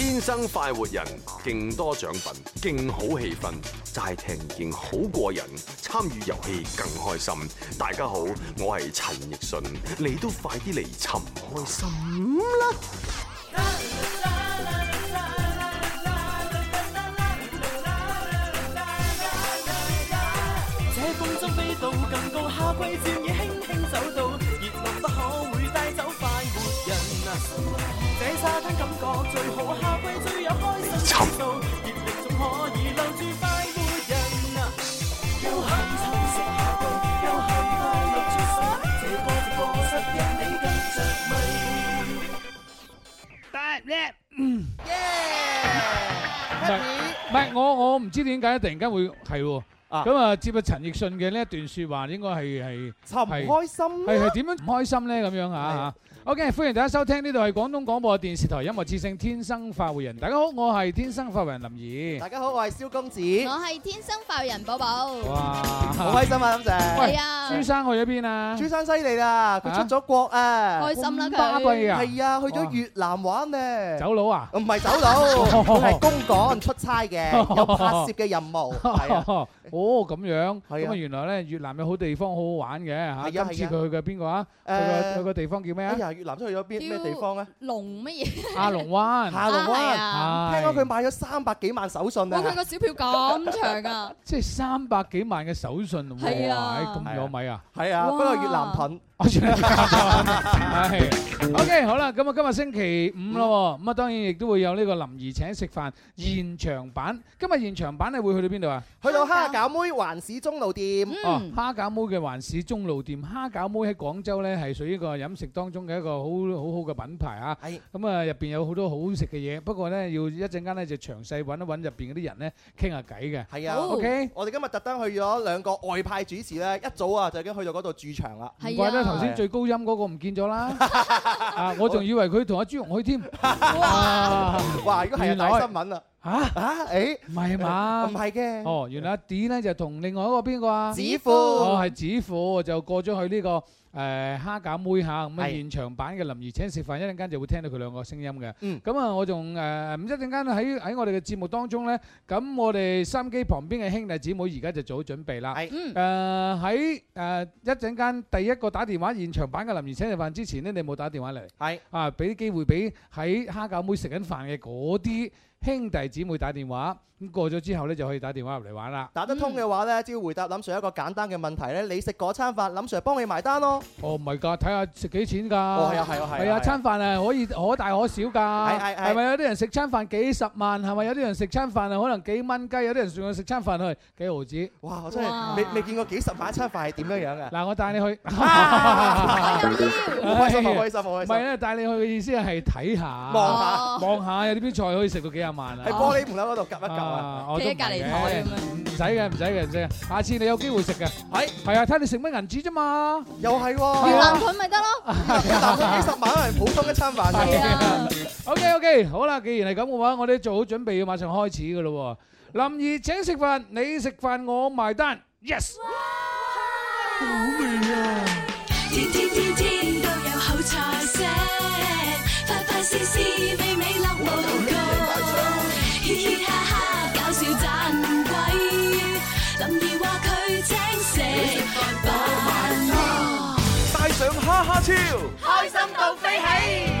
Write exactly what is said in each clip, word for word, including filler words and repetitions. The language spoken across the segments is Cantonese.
天生快活人，勁多獎品，勁好氣氛，齋聽已經好過癮，參與遊戲更開心。大家好，我係陳奕迅，你都快啲嚟尋開心啦！ 這風箏飛到更高，夏季漸已輕輕走到，熱浪不可會帶走快活人啊！這沙灘感覺最好，夏季最有開心節奏，熱力總可以留住快活人啊！悠閒充實夏季，悠閒快樂出世，這個直播室讓你跟着迷。 得咧，嗯，耶！唔係我我唔知點解突然間會係喎。咁啊，接阿陳奕迅嘅呢一段説話，應該係係尋唔開心， 係係點樣唔開心咧？咁樣啊！OK， 歡迎大家收聽，呢度係廣東廣播電視台音樂之聲《天生快活人》。大家好，我係天生快活人林怡。 大家好，我係蕭公子。 我係天生快活人寶寶。 哇，好開心啊！林姐。 係啊。 朱生去咗邊啊？ 朱生犀利啦，佢出咗國啊！ 開心啦佢。 巴閉啊！ 係啊，去咗越南玩咧。 走佬啊？ 唔係走佬，佢係公幹出差嘅，有拍攝嘅任務。係啊。 哦，咁樣。咁啊，原來咧越南有好地方好好玩嘅嚇。今次佢去嘅邊個啊？去個去個地方叫咩啊？ 哎呀，越南都去咗邊？咩地方咧？ 龍乜嘢？ 下龍灣， 下龍灣， 啊、 聽講佢買咗三百幾萬手信啊！ 哇，佢個小票咁長啊！ 即係三百幾萬嘅手信喎， 係啊， 咁有米啊！ 係啊，不過越南盾。 我全係係 OK 好啦，咁啊今日星期五咯，咁啊當然亦都會有呢個林兒請食飯現場版。今日現場版你會去到邊度啊？ 去到蝦餃妹環市中路店。 哦，蝦餃妹嘅環市中路店，蝦餃妹喺廣州咧係屬於一個飲食當中嘅一個好好好嘅品牌啊。係。咁啊入邊有好多好食嘅嘢，不過咧要一陣間咧就詳細揾一揾入邊嗰啲人咧傾下偈嘅。 係啊。 OK。 我哋今日特登去咗兩個外派主持咧，一早啊就已經去到嗰度駐場啦。 係啊。頭先最高音嗰個唔見咗啦，啊！我仲以為佢同阿朱紅去添。 哇！哇！如果係大新聞啊！嚇嚇誒， 唔係嘛？ 唔係嘅。 哦，原來阿 D 咧就同另外一個邊個啊？ 子富。 哦，係子富就過咗去呢個誒蝦餃妹嚇，咁啊現場版嘅林兒請食飯，一陣間就會聽到佢兩個聲音嘅。嗯。咁啊，我仲誒唔一陣間喺喺我哋嘅節目當中咧，咁我哋收音機旁邊嘅兄弟姊妹而家就做好準備啦。係。嗯。誒喺誒一陣間第一個打電話現場版嘅林兒請食飯之前咧，你冇打電話嚟。係。啊，俾啲機會俾喺蝦餃妹食緊飯嘅嗰啲兄弟姊妹打電話，咁過咗之後咧就可以打電話入嚟玩啦。 打得通嘅話咧，只要回答林 Sir 一個簡單嘅問題咧，你食嗰餐飯，林 Sir 幫你埋單咯。 哦，唔係㗎，睇下食幾錢㗎。 哦，係啊，係啊，係啊。係啊，餐飯係可以可大可小㗎。係係係。係咪有啲人食餐飯幾十萬？係咪有啲人食餐飯係可能幾蚊雞？有啲人仲要食餐飯去幾毫子。 哇！我真係未未見過幾十萬一餐飯係點樣樣嘅。 嗱，我帶你去。 好開心，好開心，好開心。 唔係咧，帶你去嘅意思係睇下、 望下、 望下有啲邊菜可以食到幾廿萬啊！ 喺玻璃門口嗰度夾一夾啊！ 企喺隔離台咁樣。 唔使嘅，唔使嘅，唔使嘅。下次你有機會食嘅。係係啊，睇你食乜銀紙啫嘛。 又係喎。 越南盾咪得咯。 越南盾幾十萬係普通一餐飯啫。 係啊。 OK OK，好啦，既然係咁嘅話，我哋做好準備要馬上開始㗎咯喎。林兒請食飯，你食飯我埋單。Yes。好味啊！ 天天天天都有好菜色，快快試試美美樂無窮，嘻嘻哈哈搞笑盞鬼，林兒話佢請食飯， 帶上哈哈超， 開心到飛起。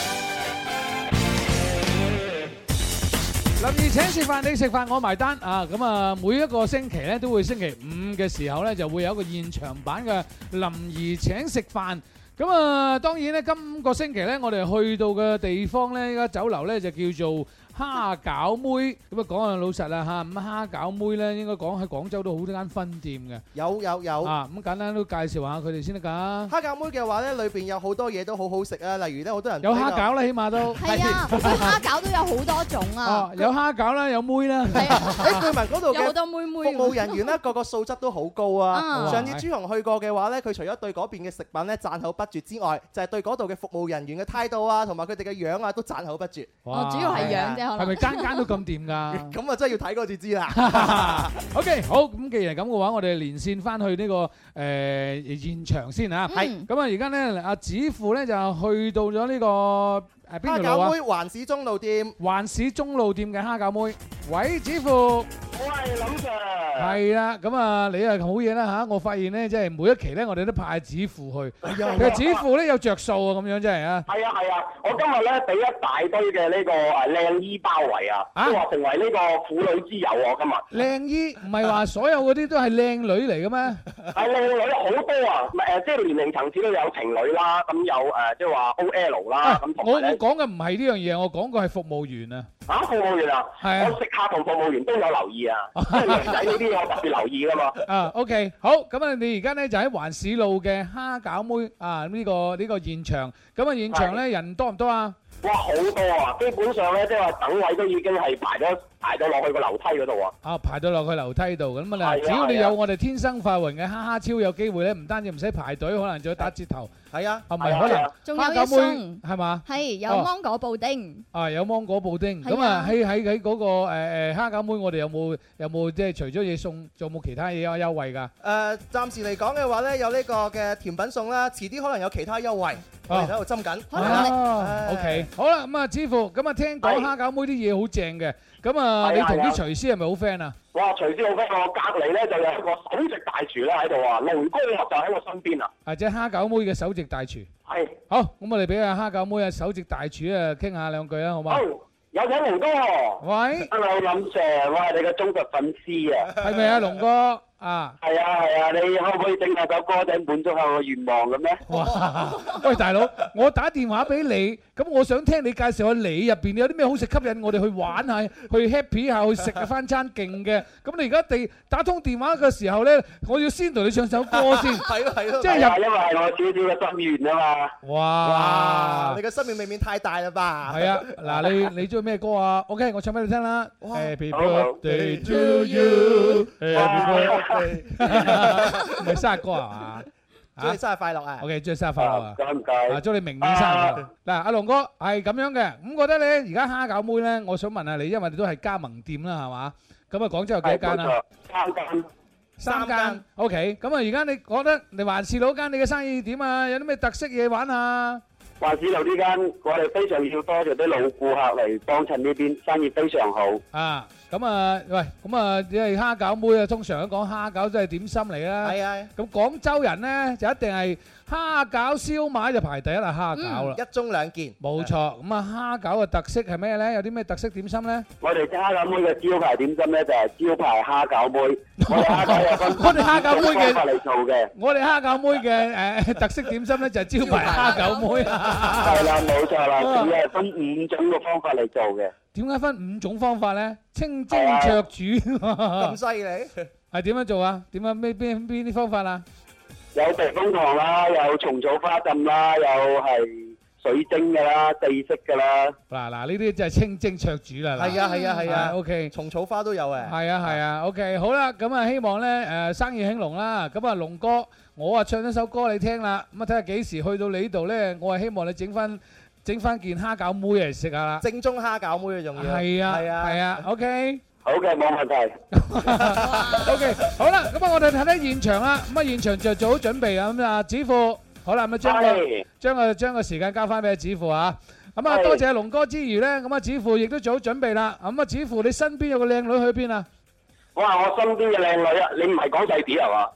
林兒請食飯，你食飯我埋單啊！咁啊，每一個星期咧都會星期五嘅時候咧就會有一個現場版嘅林兒請食飯。咁啊，當然咧今個星期咧我哋去到嘅地方咧，依家酒樓咧就叫做蝦餃妹。咁啊講下老實啦嚇，咁蝦餃妹咧應該講喺廣州都好多間分店嘅。 有有有。啊， 咁簡單都介紹下佢哋先得㗎。 蝦餃妹嘅話咧，裏邊有好多嘢都好好食啊，例如咧好多人有蝦餃啦，起碼都係啊，蝦餃都有好多種啊。 哦，有蝦餃啦，有妹啦。 係啊， 誒據聞嗰度嘅有好多妹妹。 服務人員咧個個素質都好高啊。上次朱紅去過嘅話咧，佢除咗對嗰邊嘅食品咧讚口不絕之外，就係對嗰度嘅服務人員嘅態度啊，同埋佢哋嘅樣啊，都讚口不絕。 哦，主要係樣啫，可能。 係咪間間都咁掂㗎？ 咁啊真係要睇嗰次知啦。 OK，好，咁既然係咁嘅話，我哋連線翻去呢個誒現場先嚇。係。咁啊，而家咧阿子富咧就去到咗呢個誒邊條路啊？ 蝦餃妹環市中路店。 環市中路店嘅蝦餃妹，喂，子父。 我係林 Sir。 係啦，咁啊，你係好嘢啦嚇！我發現咧，即係每一期咧，我哋都派子父去。其實子父咧有着數啊，咁樣真係啊。 係啊係啊，我今日咧俾一大堆嘅呢個誒靚衣包圍啊，即係話成為呢個婦女之友喎今日。 靚衣唔係話所有嗰啲都係靚女嚟嘅咩？ 係靚女好多啊！誒，即係年齡層次都有情侶啦，咁有誒即係話 O L 啦，咁同我我埋咧。 講嘅唔係呢樣嘢，我講嘅係服務員啊。 啊，服務員啊， 係啊我食客同服務員都有留意啊，即係女仔呢啲我特別留意噶嘛。 啊，OK，好，咁啊，你而家咧就喺環市路嘅蝦餃妹啊呢個呢個現場，咁啊現場咧人多唔多啊？ 哇，好多啊！基本上咧，即係話等位都已經係排咗排到落去個樓梯嗰度啊！ 啊，排到落去樓梯度咁啊！ 係啊只要你係啊有我哋天生快活嘅哈哈超有機會咧，唔單止唔使排隊，可能仲要打折頭。 係啊， 係咪可能仲有一蝦餃妹送係嘛？ 係有芒果布丁。 啊，有芒果布丁。 係啊咁啊喺喺喺嗰個誒誒蝦餃妹，我哋有冇有冇即係除咗嘢送，仲有冇其他嘢有優惠㗎？ 誒，暫時嚟講嘅話咧，有呢個嘅甜品送啦，遲啲可能有其他優惠，我哋喺度針緊。 哦，OK，好啦，咁啊，師傅，咁啊，聽講蝦餃妹啲嘢好正嘅，咁啊，你同啲廚師係咪好 friend 啊？ 哇！廚師好 friend，我隔離咧就有一個首席大廚咧喺度啊，龍哥就喺我身邊啊。 或者蝦餃妹嘅首席大廚。 係。 好，咁我哋俾阿蝦餃妹啊首席大廚啊傾下兩句啦，好嘛？ 好，有請龍哥。 喂。 Hello，林 Sir，我係你嘅忠實粉絲啊。 係咪啊，龍哥？啊， 係啊係啊，你可唔可以整下首歌仔滿足下我願望嘅咩？ 哇！喂，大佬，我打電話俾你，咁我想聽你介紹下你入邊有啲咩好食吸引我哋去玩下，去 happy 下，去食下翻餐勁嘅。咁你而家地打通電話嘅時候咧，我要先同你唱首歌先。 係咯係咯。 即係入， 因為係我少少嘅心願啊嘛。 哇！ 哇！你嘅心願未免太大啦吧？ 係啊，嗱，你你中意咩歌啊 ？OK，我唱俾你聽啦。Happy 好 birthday to you，Happy birthday。唔係生日歌係嘛？ 祝你生日快樂啊 ！OK，祝你生日快樂啊！ 唔該唔該。 啊，祝你明年生日快樂。嗱，阿龍哥係咁樣嘅，咁覺得咧，而家蝦餃妹咧，我想問下你，因為你都係加盟店啦，係嘛？咁啊，廣州有幾多間啊？ 三間。 三間。OK，咁啊，而家你覺得你環市路間你嘅生意點啊？有啲咩特色嘢玩啊？ 環市路呢間，我哋非常要多謝啲老顧客嚟幫襯呢邊，生意非常好。 啊，咁啊，喂，咁啊，你係蝦餃妹啊，通常都講蝦餃都係點心嚟啦。 係啊。 咁廣州人咧就一定係蝦餃燒賣就排第一啦，蝦餃啦。 一盅兩件。 冇錯，咁啊蝦餃嘅特色係咩咧？有啲咩特色點心咧？ 我哋蝦餃妹嘅招牌點心咧就係招牌蝦餃妹。我哋蝦餃有分我哋蝦餃妹嘅方法嚟做嘅。 我哋蝦餃妹嘅誒特色點心咧就係招牌蝦餃妹啊。 係啦，冇錯啦，只係分五種嘅方法嚟做嘅。 點解分五種方法咧？清蒸灼煮咁犀利？ 係點樣做啊？點樣咩邊邊啲方法啊？ 有避風塘啦，有蟲草花浸啦，有係水蒸嘅啦，地式嘅啦。 嗱嗱，呢啲就係清蒸灼煮啦。 係啊係啊係啊 ，OK。 蟲草花都有誒。 係啊係啊 ，OK。好啦，咁啊希望咧誒生意興隆啦。咁啊龍哥，我啊唱咗首歌你聽啦。咁啊睇下幾時去到你呢度咧，我係希望你整翻整翻件蝦餃妹嚟食下啦。 正宗蝦餃妹啊，仲要。 係啊係啊係啊 ，OK。 好嘅，冇問題。 OK，好啦，咁啊，我哋睇睇現場啦。咁啊，現場就做好準備啊。咁啊，子父，好啦，咁啊，將個將個將個時間交翻俾子父啊。咁啊，多謝阿龍哥之餘咧，咁啊，子父亦都做好準備啦。咁啊，子父，你身邊有個靚女去邊啊？ 我話我身邊嘅靚女啊，你唔係講細啲係嘛？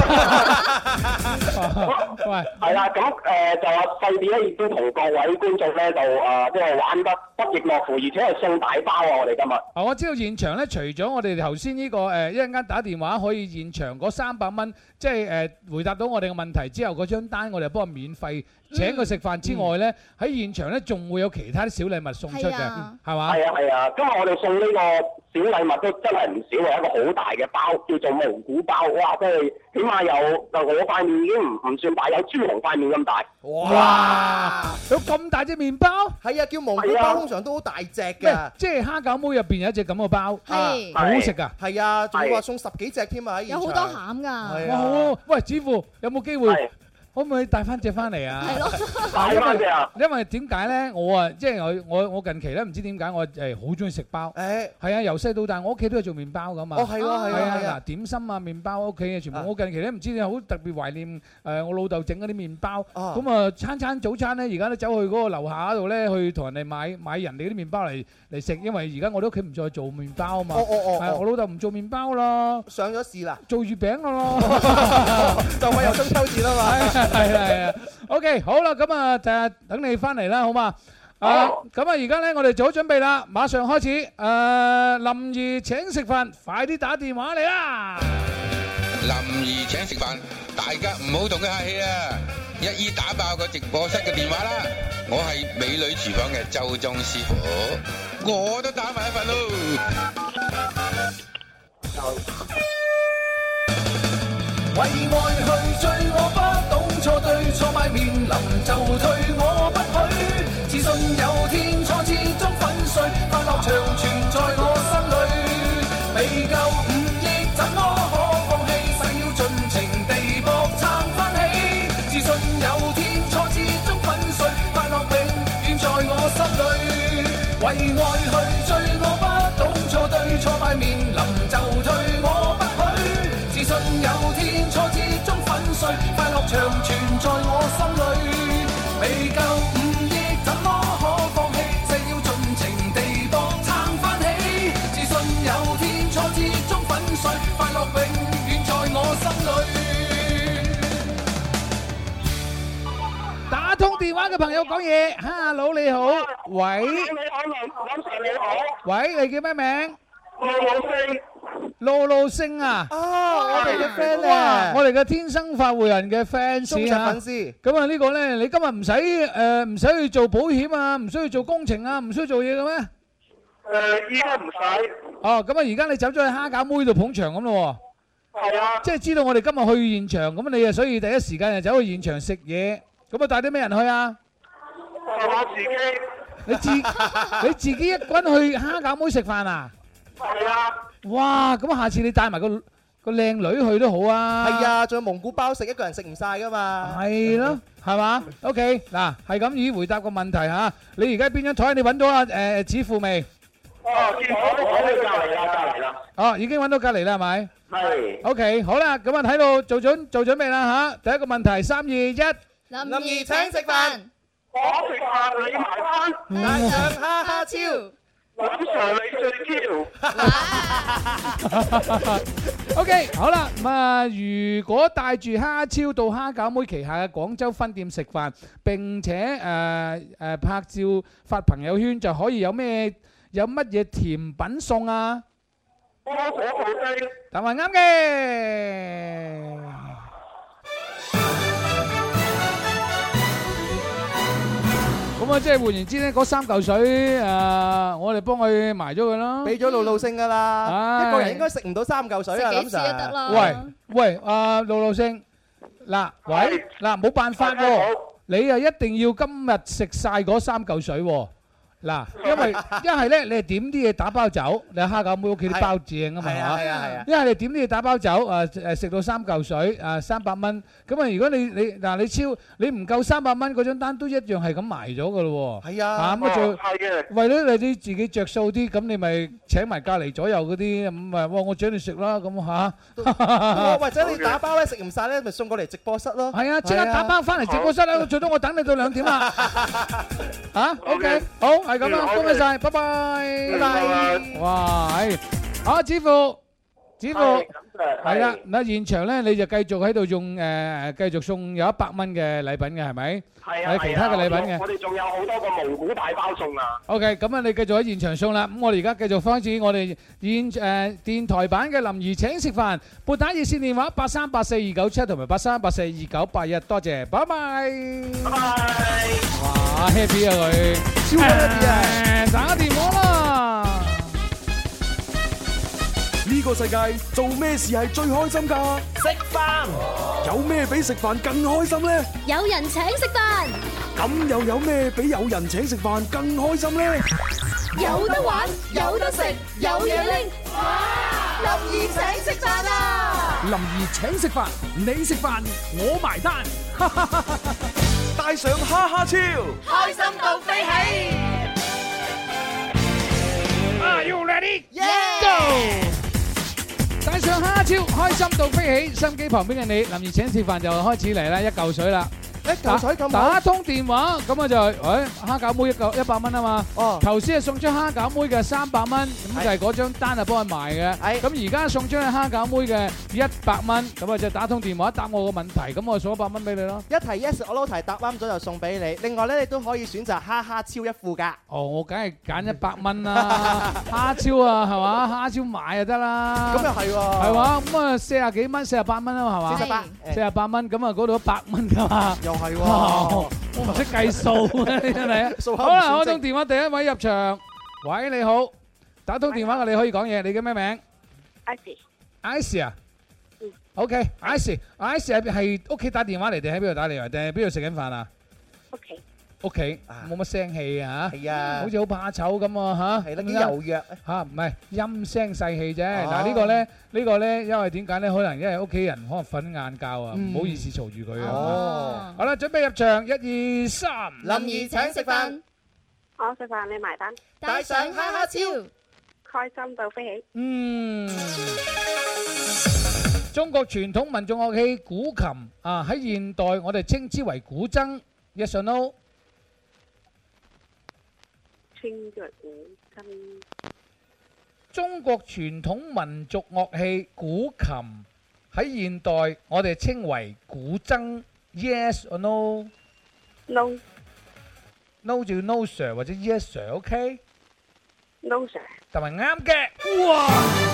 喂， 係啦，咁誒就話細啲咧，亦都同各位觀眾咧就誒即係玩得不亦樂乎，而且係送大包啊！我哋今日。 啊，我知道現場咧，除咗我哋頭先呢個誒一陣間打電話可以現場嗰三百蚊，即係誒回答到我哋嘅問題之後，嗰張單我哋幫佢免費請佢食飯之外咧，喺現場咧仲會有其他啲小禮物送出嘅，係嘛？ 係啊係啊，今日我哋送呢個小禮物都真係唔少啊！一個好大嘅包，叫做蒙古包，哇！真係起碼有就我塊面已經唔唔算大，有朱紅塊面咁大。 哇！有咁大隻麵包？ 係啊，叫蒙古包通常都好大隻嘅。 即係蝦餃妹入邊有一隻咁嘅包， 係好好食㗎。 係啊，仲要話送十幾隻添啊！喺現場有好多餡㗎。 哇！好，喂，子父有冇機會？ 可唔可以帶翻隻翻嚟啊？ 係咯， 帶翻隻啊！ 因為點解咧？我啊，即係我我我近期咧，唔知點解我誒好中意食包。 誒， 係啊，由細到大，我屋企都係做麵包噶嘛。 哦，係喎，係係啊， 啊， 嗱，點心啊，麵包屋企嘅全部。我近期咧唔知點解好特別懷念誒我老豆整嗰啲麵包。咁啊，餐餐早餐咧，而家都走去嗰個樓下嗰度咧，去同人哋買買人哋嗰啲麵包嚟嚟食，因為而家我哋屋企唔再做麵包啊嘛。 哦哦哦， 係我老豆唔做麵包啦， 上咗市啦， 做月餅噶咯， 就快有中秋節啦嘛。 係啊係啊。OK，好啦，咁啊，就係等你翻嚟啦，好嘛？啊，咁啊，而家咧我哋做好準備啦，馬上開始。誒，林兒請食飯，快啲打電話嚟啦！ 林兒請食飯，大家唔好同佢客氣啊！一於打爆個直播室嘅電話啦！我係美女廚房嘅周中師傅，我都打埋一份咯。 為愛去追，我不懂錯對，錯敗面臨就退，我不許。自信有天，錯始終粉碎，快樂長存在我心裏。未夠五億，怎麼可放棄？誓要盡情地搏撐翻起。自信有天，錯始終粉碎，快樂永遠在我心裏。為愛去追，我不懂錯對，錯敗面臨就退，我不許。自信有天，錯始終粉碎，快樂長存在我心裏。未夠五億，怎麼可放棄？誓要盡情地搏撐翻起。自信有天，錯始終粉碎，快樂永遠在我心裏。 打通電話嘅朋友講嘢，Hello你好，喂， 你好，林 Sir 你好， 喂，你叫咩名？ 我冇聲。 露露星啊！ 啊，我哋嘅 friend 咧， 我哋嘅天生發匯人嘅 fans 忠實粉絲。 咁啊呢個咧，你今日唔使誒唔使去做保險啊，唔需要做工程啊，唔需要做嘢嘅咩？ 誒，依家唔使。 哦，咁啊而家你走咗去蝦餃妹度捧場咁咯喎。 係啊。 即係知道我哋今日去現場，咁你啊所以第一時間就走去現場食嘢。咁啊帶啲咩人去啊？ 我自己。 你自你自己一個人去蝦餃妹食飯啊？ 係啊。 哇！咁下次你帶埋個個靚女去都好啊。 係啊，仲有蒙古包食，一個人食唔晒噶嘛。 係咯，係嘛 ？OK，嗱，係咁已回答個問題嚇。你而家邊張台？你揾到啊？誒子父未？ 哦，見到我喺隔離啦，隔離啦。 哦，已經揾到隔離啦，係咪？ 係。 OK，好啦，咁啊睇到做準做準備啦嚇。第一個問題，三二一， 林兒請食飯， 我食飯你埋單， 帶上哈哈超。 林 Sir 你最挑。 OK，好啦，咁啊，如果帶住蝦超到蝦餃妹旗下嘅廣州分店食飯，並且誒誒拍照發朋友圈，就可以有咩有乜嘢甜品送啊？ 菠蘿布丁。 答案啱嘅。咁啊，即係換言之咧，嗰三嚿水誒，我哋幫佢埋咗佢啦， 俾咗露露星噶啦，一個人應該食唔到三嚿水啊， 食幾次都得啦。 喂喂，阿露露星，嗱，喂，嗱，冇辦法喎，你啊一定要今日食晒嗰三嚿水喎。嗱，因為一係咧，你係點啲嘢打包走，你蝦餃妹屋企啲包正啊嘛，係嘛？ 係啊係啊。 一係你點啲嘢打包走，誒誒食到三嚿水，誒三百蚊。咁啊，如果你你嗱你超你唔夠三百蚊嗰張單，都一樣係咁埋咗噶咯喎。 係啊。 嚇咁啊，做係嘅。 為咗你啲自己著數啲，咁你咪請埋隔離左右嗰啲咁咪，哇！我請你食啦，咁嚇。 或者你打包咧食唔晒咧，咪送過嚟直播室咯。 係啊，即刻打包翻嚟直播室啦！最多我等你到兩點啦。嚇 ，OK，好。係咁啦，恭喜晒，拜拜，拜拜。哇，係，好，子父，子父，係啦，嗱，現場咧你就繼續喺度用誒，繼續送有一百蚊嘅禮品嘅係咪？ 係啊， 有其他嘅禮品嘅。 我哋仲有好多個蒙古大包送啊。 OK，咁啊，你繼續喺現場送啦。咁我哋而家繼續開始我哋現誒電台版嘅林兒請食飯，撥打熱線電話八三八四二九七同埋八三八四二九八一，多謝，拜拜。 拜拜。 哇，happy 啊佢，超 happy 啊！打電話啦。 呢個世界做咩事係最開心㗎？ 食飯。 有咩比食飯更開心呢？ 有人請食飯， 咁又有咩比有人請食飯更開心呢？ 有得玩，有得食，有嘢拎，哇！林兒請食飯啊！ 林兒請食飯，你食飯我埋單。 帶上哈哈超， 開心到飛起。 Are you ready? Yeah! Go！ 帶上哈哈超，開心到飛起。心機旁邊嘅你，林兒請食飯就開始嚟啦，一嚿水啦。 一嚿水咁打通電話，咁啊就係，誒蝦餃妹一嚿一百蚊啊嘛。哦。頭先係送張蝦餃妹嘅三百蚊，咁就係嗰張單係幫佢賣嘅。係。咁而家送張蝦餃妹嘅一百蚊，咁啊就打通電話答我個問題，咁我送一百蚊俾你咯。 一題 yes 我撈題答啱咗就送俾你。另外咧，你都可以選擇哈哈超一副㗎。 哦，我梗係揀一百蚊啦，蝦超啊，係嘛？蝦超買就得啦。 咁又係喎。 係嘛？咁啊四十幾蚊，四十八蚊啊嘛，係嘛？ 四十八。 四十八蚊，咁啊嗰度一百蚊㗎嘛。 又係喎， 我唔識計數啊！真係啊！好啦，開通電話第一位入場，喂你好，打通電話嘅你可以講嘢，你叫咩名 ？Icy，Icy 啊 ，OK，Icy，Icy 係係屋企打電話嚟定喺邊度打嚟啊？定係邊度食緊飯啊？ 屋企。 屋企冇乜聲氣啊嚇， 係啊， 好似好怕醜咁啊嚇， 係啦，幾柔弱嚇，唔係陰聲細氣啫。嗱呢個咧，呢個咧，因為點解咧？可能因為屋企人可能瞓晏覺啊，唔好意思嘈住佢啊。哦，好啦，準備入場，一二三， 林兒請食飯， 我食飯你埋單， 帶上哈哈超， 開心到飛起。 嗯，中國傳統民眾樂器古琴啊，喺現代我哋稱之為古箏。Yes or no？ 稱之為古箏。 中國傳統民族樂器古琴喺現代我哋稱為古箏。Yes or no？No。No 就 no sir 或者 yes sir，OK？No sir。 同埋啱嘅。哇！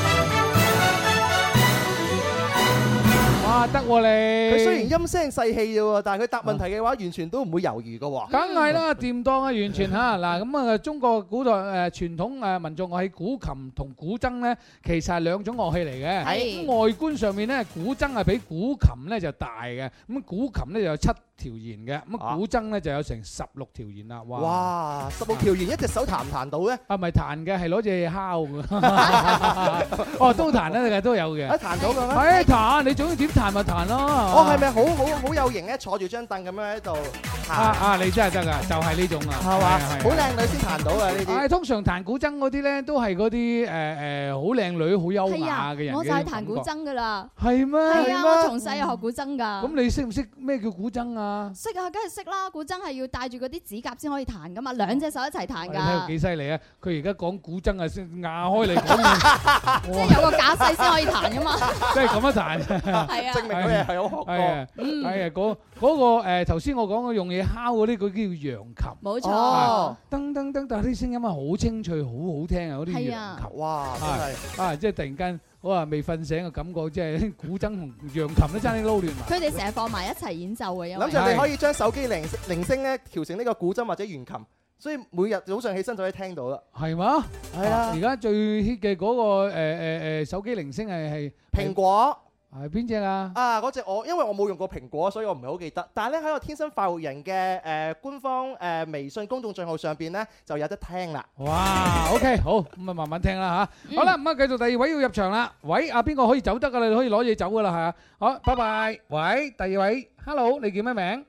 哇，得喎你！ 佢雖然陰聲細氣啫喎，但係佢答問題嘅話，完全都唔會猶豫嘅喎。 梗係啦，掂當啊，完全嚇嗱咁啊！中國古代誒傳統誒民族樂器古琴同古箏咧，其實係兩種樂器嚟嘅。係。咁外觀上面咧，古箏係比古琴咧就大嘅，咁古琴咧就有七條弦嘅，咁古箏咧就有成十六條弦啦。哇！ 哇！十六條弦一隻手彈唔彈到咧？ 啊，唔係彈嘅，係攞隻敲嘅。哦，都彈咧，都有嘅。 啊，彈到嘅咩？ 係彈，你中意點彈咪彈咯。 哦，係咪好好好有型咧？坐住張凳咁樣喺度彈。 啊啊！你真係得㗎，就係呢種啊。係嘛？ 好靚女先彈到啊！呢啲。 係通常彈古箏嗰啲咧，都係嗰啲誒誒好靚女、好優雅嘅人。 我就係彈古箏㗎啦。 係咩？ 係啊，我從細又學古箏㗎。 咁你識唔識咩叫古箏啊？ 識啊，梗係識啦！古箏係要戴住嗰啲指甲先可以彈㗎嘛，兩隻手一齊彈㗎。 你睇佢幾犀利啊！佢而家講古箏啊，先壓開嚟講。 即係有個架勢先可以彈㗎嘛。 即係咁樣彈。 係啊。 證明佢係好學過。 係啊，係啊，嗰嗰個誒頭先我講嘅用嘢敲嗰啲，佢叫揚琴。 冇錯。 噔噔噔，但係啲聲音啊好清脆，好好聽啊！嗰啲揚琴。 哇！真係啊，即係突然間。我話未瞓醒嘅感覺，即係古箏同揚琴都爭啲撈亂埋。 佢哋成日放埋一齊演奏嘅，因為諗住你可以將手機鈴鈴聲咧調成呢個古箏或者弦琴，所以每日早上起身就可以聽到啦。 係嘛？ 係啊！ 而家最 hit 嘅嗰個誒誒誒手機鈴聲係係蘋果。 係邊隻啊？ 啊，嗰隻我因為我冇用過蘋果，所以我唔係好記得。但係咧喺個天生快活人嘅誒官方誒微信公眾帳號上邊咧就有得聽啦。 哇！OK，好咁啊，慢慢聽啦嚇。好啦，咁啊繼續第二位要入場啦。喂，啊邊個可以走得㗎啦？你可以攞嘢走㗎啦，係啊。好，拜拜。喂，第二位 ，Hello，你叫咩名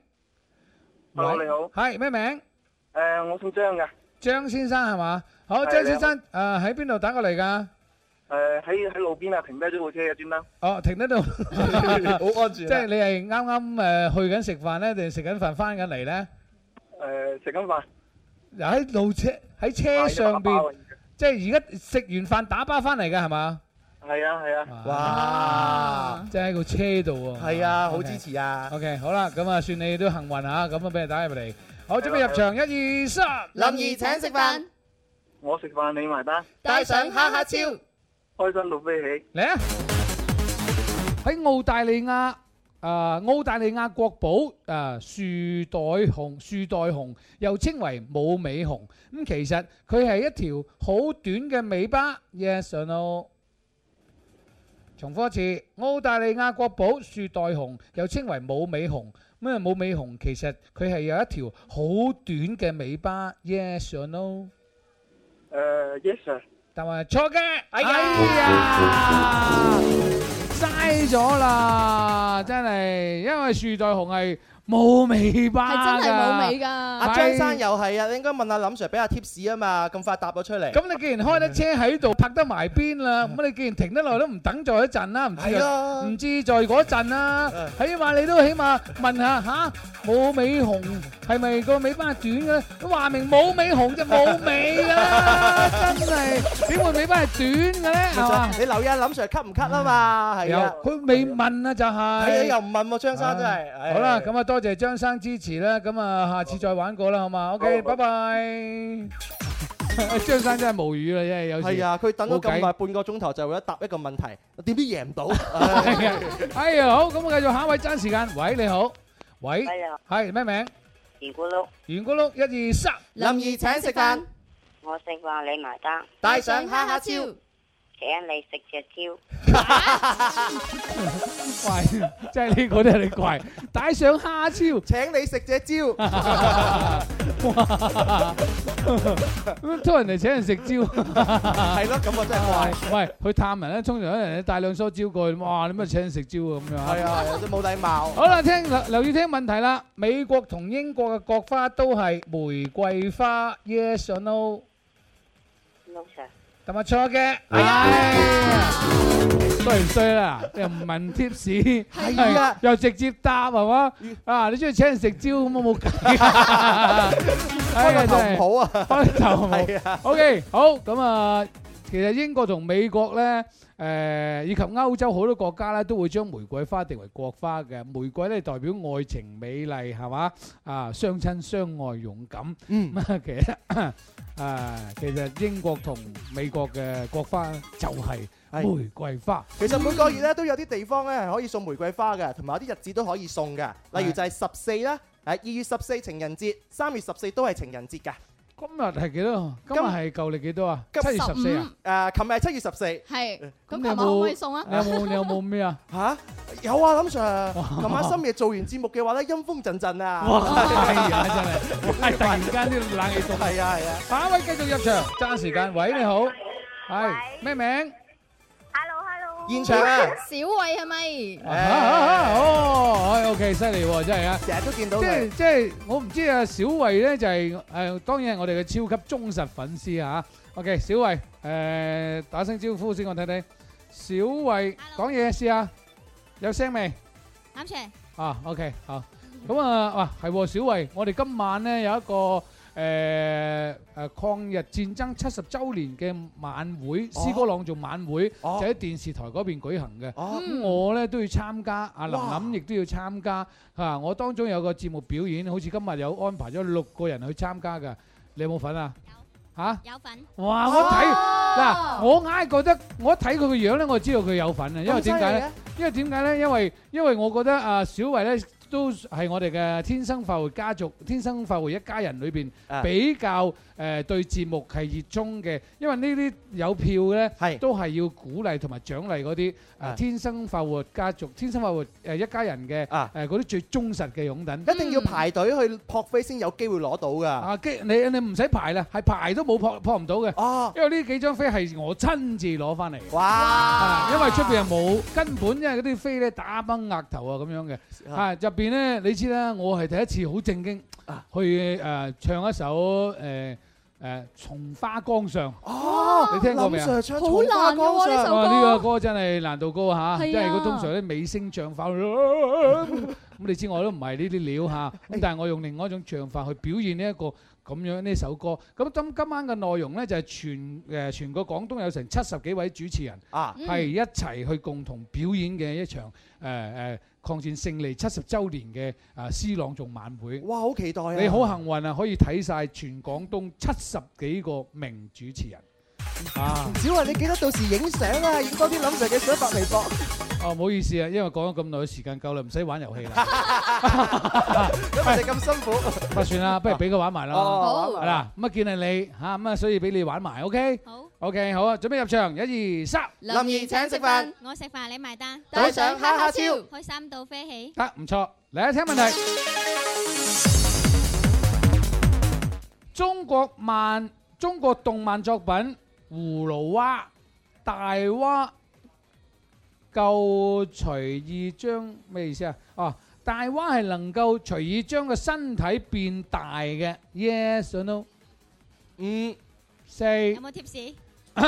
？Hello，你好。 係咩名？ 誒，我姓張㗎。 張先生係嘛？好，張先生，誒喺邊度打過嚟㗎？ 誒喺喺路邊啊，停低咗部車嘅專登。 哦，停喺度， 好安全。 即係你係啱啱誒去緊食飯咧，定食緊飯翻緊嚟咧？ 誒食緊飯。 又喺路車喺車上邊，即係而家食完飯打包翻嚟嘅係嘛？ 係啊係啊。 哇！ 即係喺個車度喎。 係啊，好支持啊。 OK，好啦，咁啊算你都幸運嚇，咁啊俾你打入嚟。好，準備入場，一二三， 林兒請食飯， 我食飯你埋單， 帶上哈哈超。 開心到飛起！ 嚟啊！喺澳大利亞，誒澳大利亞國寶誒樹袋熊，樹袋熊又稱為冇尾熊。咁其實佢係一條好短嘅尾巴。Yes or no？重複一次，澳大利亞國寶樹袋熊又稱為冇尾熊。咁啊冇尾熊其實佢係有一條好短嘅尾巴。Yes or no？ 誒 Yes sir。 但係錯嘅，哎呀！ 嘥咗啦，真係，因為樹袋熊係冇尾巴㗎， 係真係冇尾㗎。 阿張生又係啊，你應該問阿林 Sir 俾阿 tips 啊嘛，咁快答咗出嚟。 咁你既然開得車喺度泊得埋邊啦，咁你既然停得耐都唔等咗一陣啦，唔知啊，唔知在嗰陣啦，起碼你都起碼問下嚇冇尾熊係咪個尾巴係短嘅咧？咁話明冇尾熊就冇尾㗎啦，真係點會尾巴係短嘅咧？係嘛？ 你留意下林 Sir 咳唔咳啊嘛？係啊， 佢未問啊就係。係啊，又唔問喎，張生真係。 好啦，咁啊多謝張生支持啦，咁啊下次再玩過啦，好嘛 ？OK，拜拜。張生真係無語啦，真係有時。 係啊，佢等咗咁耐半個鐘頭就為咗答一個問題，點知贏唔到？ 係啊，哎呀好，咁我繼續下一位爭時間。喂，你好，喂，係咩名？ 圓咕碌， 圓咕碌，一二三， 林怡請食飯， 我食飯你埋單， 帶上哈哈超， 請你食隻蕉。 怪，即係呢個都係你怪。帶上蝦超， 請你食隻蕉。 咁拖人哋請人食蕉， 係咯，咁我真係怪。 喂，去探人咧，通常咧人哋帶兩梳蕉過去，哇！你乜請人食蕉啊咁樣？ 係啊，有啲冇禮貌。 好啦，聽留留意聽問題啦。美國同英國嘅國花都係玫瑰花 ，yes or no？No sir。 咁啊錯嘅，哎呀，衰唔衰啦？又唔問 tips，係啊，又直接答係嘛？啊，你中意請人食蕉咁我冇計。 開個頭唔好啊， 開頭唔好。 係啊。 OK，好咁啊，其實英國同美國咧。誒以及歐洲好多國家咧都會將玫瑰花定為國花嘅。玫瑰咧代表愛情美麗係嘛？啊，相親相愛勇敢。嗯，咁啊其實啊其實英國同美國嘅國花就係玫瑰花。 其實每個月咧都有啲地方咧係可以送玫瑰花嘅，同埋有啲日子都可以送嘅。例如就係十四啦，誒二月十四情人節，三月十四都係情人節㗎。 今日係幾多？今日係舊歷幾多啊？七月十四啊？ 誒，琴日係七月十四。 係。咁你琴日可唔可以送啊？ 你有冇你有冇咩啊？ 嚇？有啊，林 Sir。琴晚深夜做完節目嘅話咧，陰風陣陣啊！ 哇！係啊，真係。係突然間啲冷氣凍。 係啊係啊。 下一位繼續入場，爭時間。喂，你好。係。咩名？ 現場啊！ 小慧係咪？ 哦，OK， 犀利喎，真係啊！ 成日都見到佢。 即係即係，我唔知啊，小慧咧就係誒，當然係我哋嘅超級忠實粉絲啊！OK， 小慧誒打聲招呼先，我睇睇。小慧講嘢試下，有聲未？ 啱嘅。 啊 ，OK， 好。咁啊，哇，係喎，小慧，我哋今晚咧有一個。誒誒抗日戰爭七十週年嘅晚會，詩歌朗誦晚會就喺電視台嗰邊舉行嘅。咁我咧都要參加，阿林林亦都要參加嚇。我當中有個節目表演，好似今日有安排咗六個人去參加㗎。你有冇份啊？嚇？有份。哇！我睇嗱，我硬係覺得我一睇佢個樣咧，我就知道佢有份啊。因為點解咧？因為點解咧？因為因為我覺得啊，小慧咧。都係我哋嘅天生快活家族、天生快活一家人裏邊比較誒對節目係熱衷嘅，因為呢啲有票咧，都係要鼓勵同埋獎勵嗰啲誒天生快活家族、天生快活誒一家人嘅誒嗰啲最忠實嘅擁躉， 一定要排隊去撲飛先有機會攞到㗎。 啊，機你你唔使排啦，係排都冇撲撲唔到嘅。哦，因為呢幾張飛係我親自攞翻嚟。哇！因為出邊係冇根本，因為嗰啲飛咧打崩額頭啊咁樣嘅，啊入邊咧你知啦，我係第一次好正經去誒唱一首誒。誒《松花江上》哦，你聽過未啊？ 好難㗎呢首歌。 呢個歌真係難度高嚇，即係佢通常啲尾聲唱法，咁你知我都唔係呢啲料嚇，咁但係我用另外一種唱法去表現呢一個咁樣呢首歌。咁今今晚嘅內容咧就係全誒全個廣東有成七十幾位主持人啊，係一齊去共同表演嘅一場誒誒抗戰勝利七十週年嘅啊詩朗誦晚會。 哇！好期待啊！ 你好幸運啊，可以睇晒全廣東七十幾個名主持人。啊！ 小慧，你記得到時影相啊，影多啲林 Sir 嘅相發微博。 哦，唔好意思啊，因為講咗咁耐，時間夠啦，唔使玩遊戲啦。 咁我哋咁辛苦， 不算啦，不如俾佢玩埋啦。 好， 係啦，咁啊見係你嚇，咁啊所以俾你玩埋，OK？好，OK，好啊，準備入場，一二三。 林怡請食飯， 我食飯你埋單， 帶上哈哈超， 開心到飛起。 得，唔錯，嚟啊！聽問題。中國漫中國動漫作品《葫蘆娃》大娃夠隨意將咩意思啊？哦，大蛙係能夠隨意將個身體變大嘅。Yes or no？ 五、四。 有冇貼士？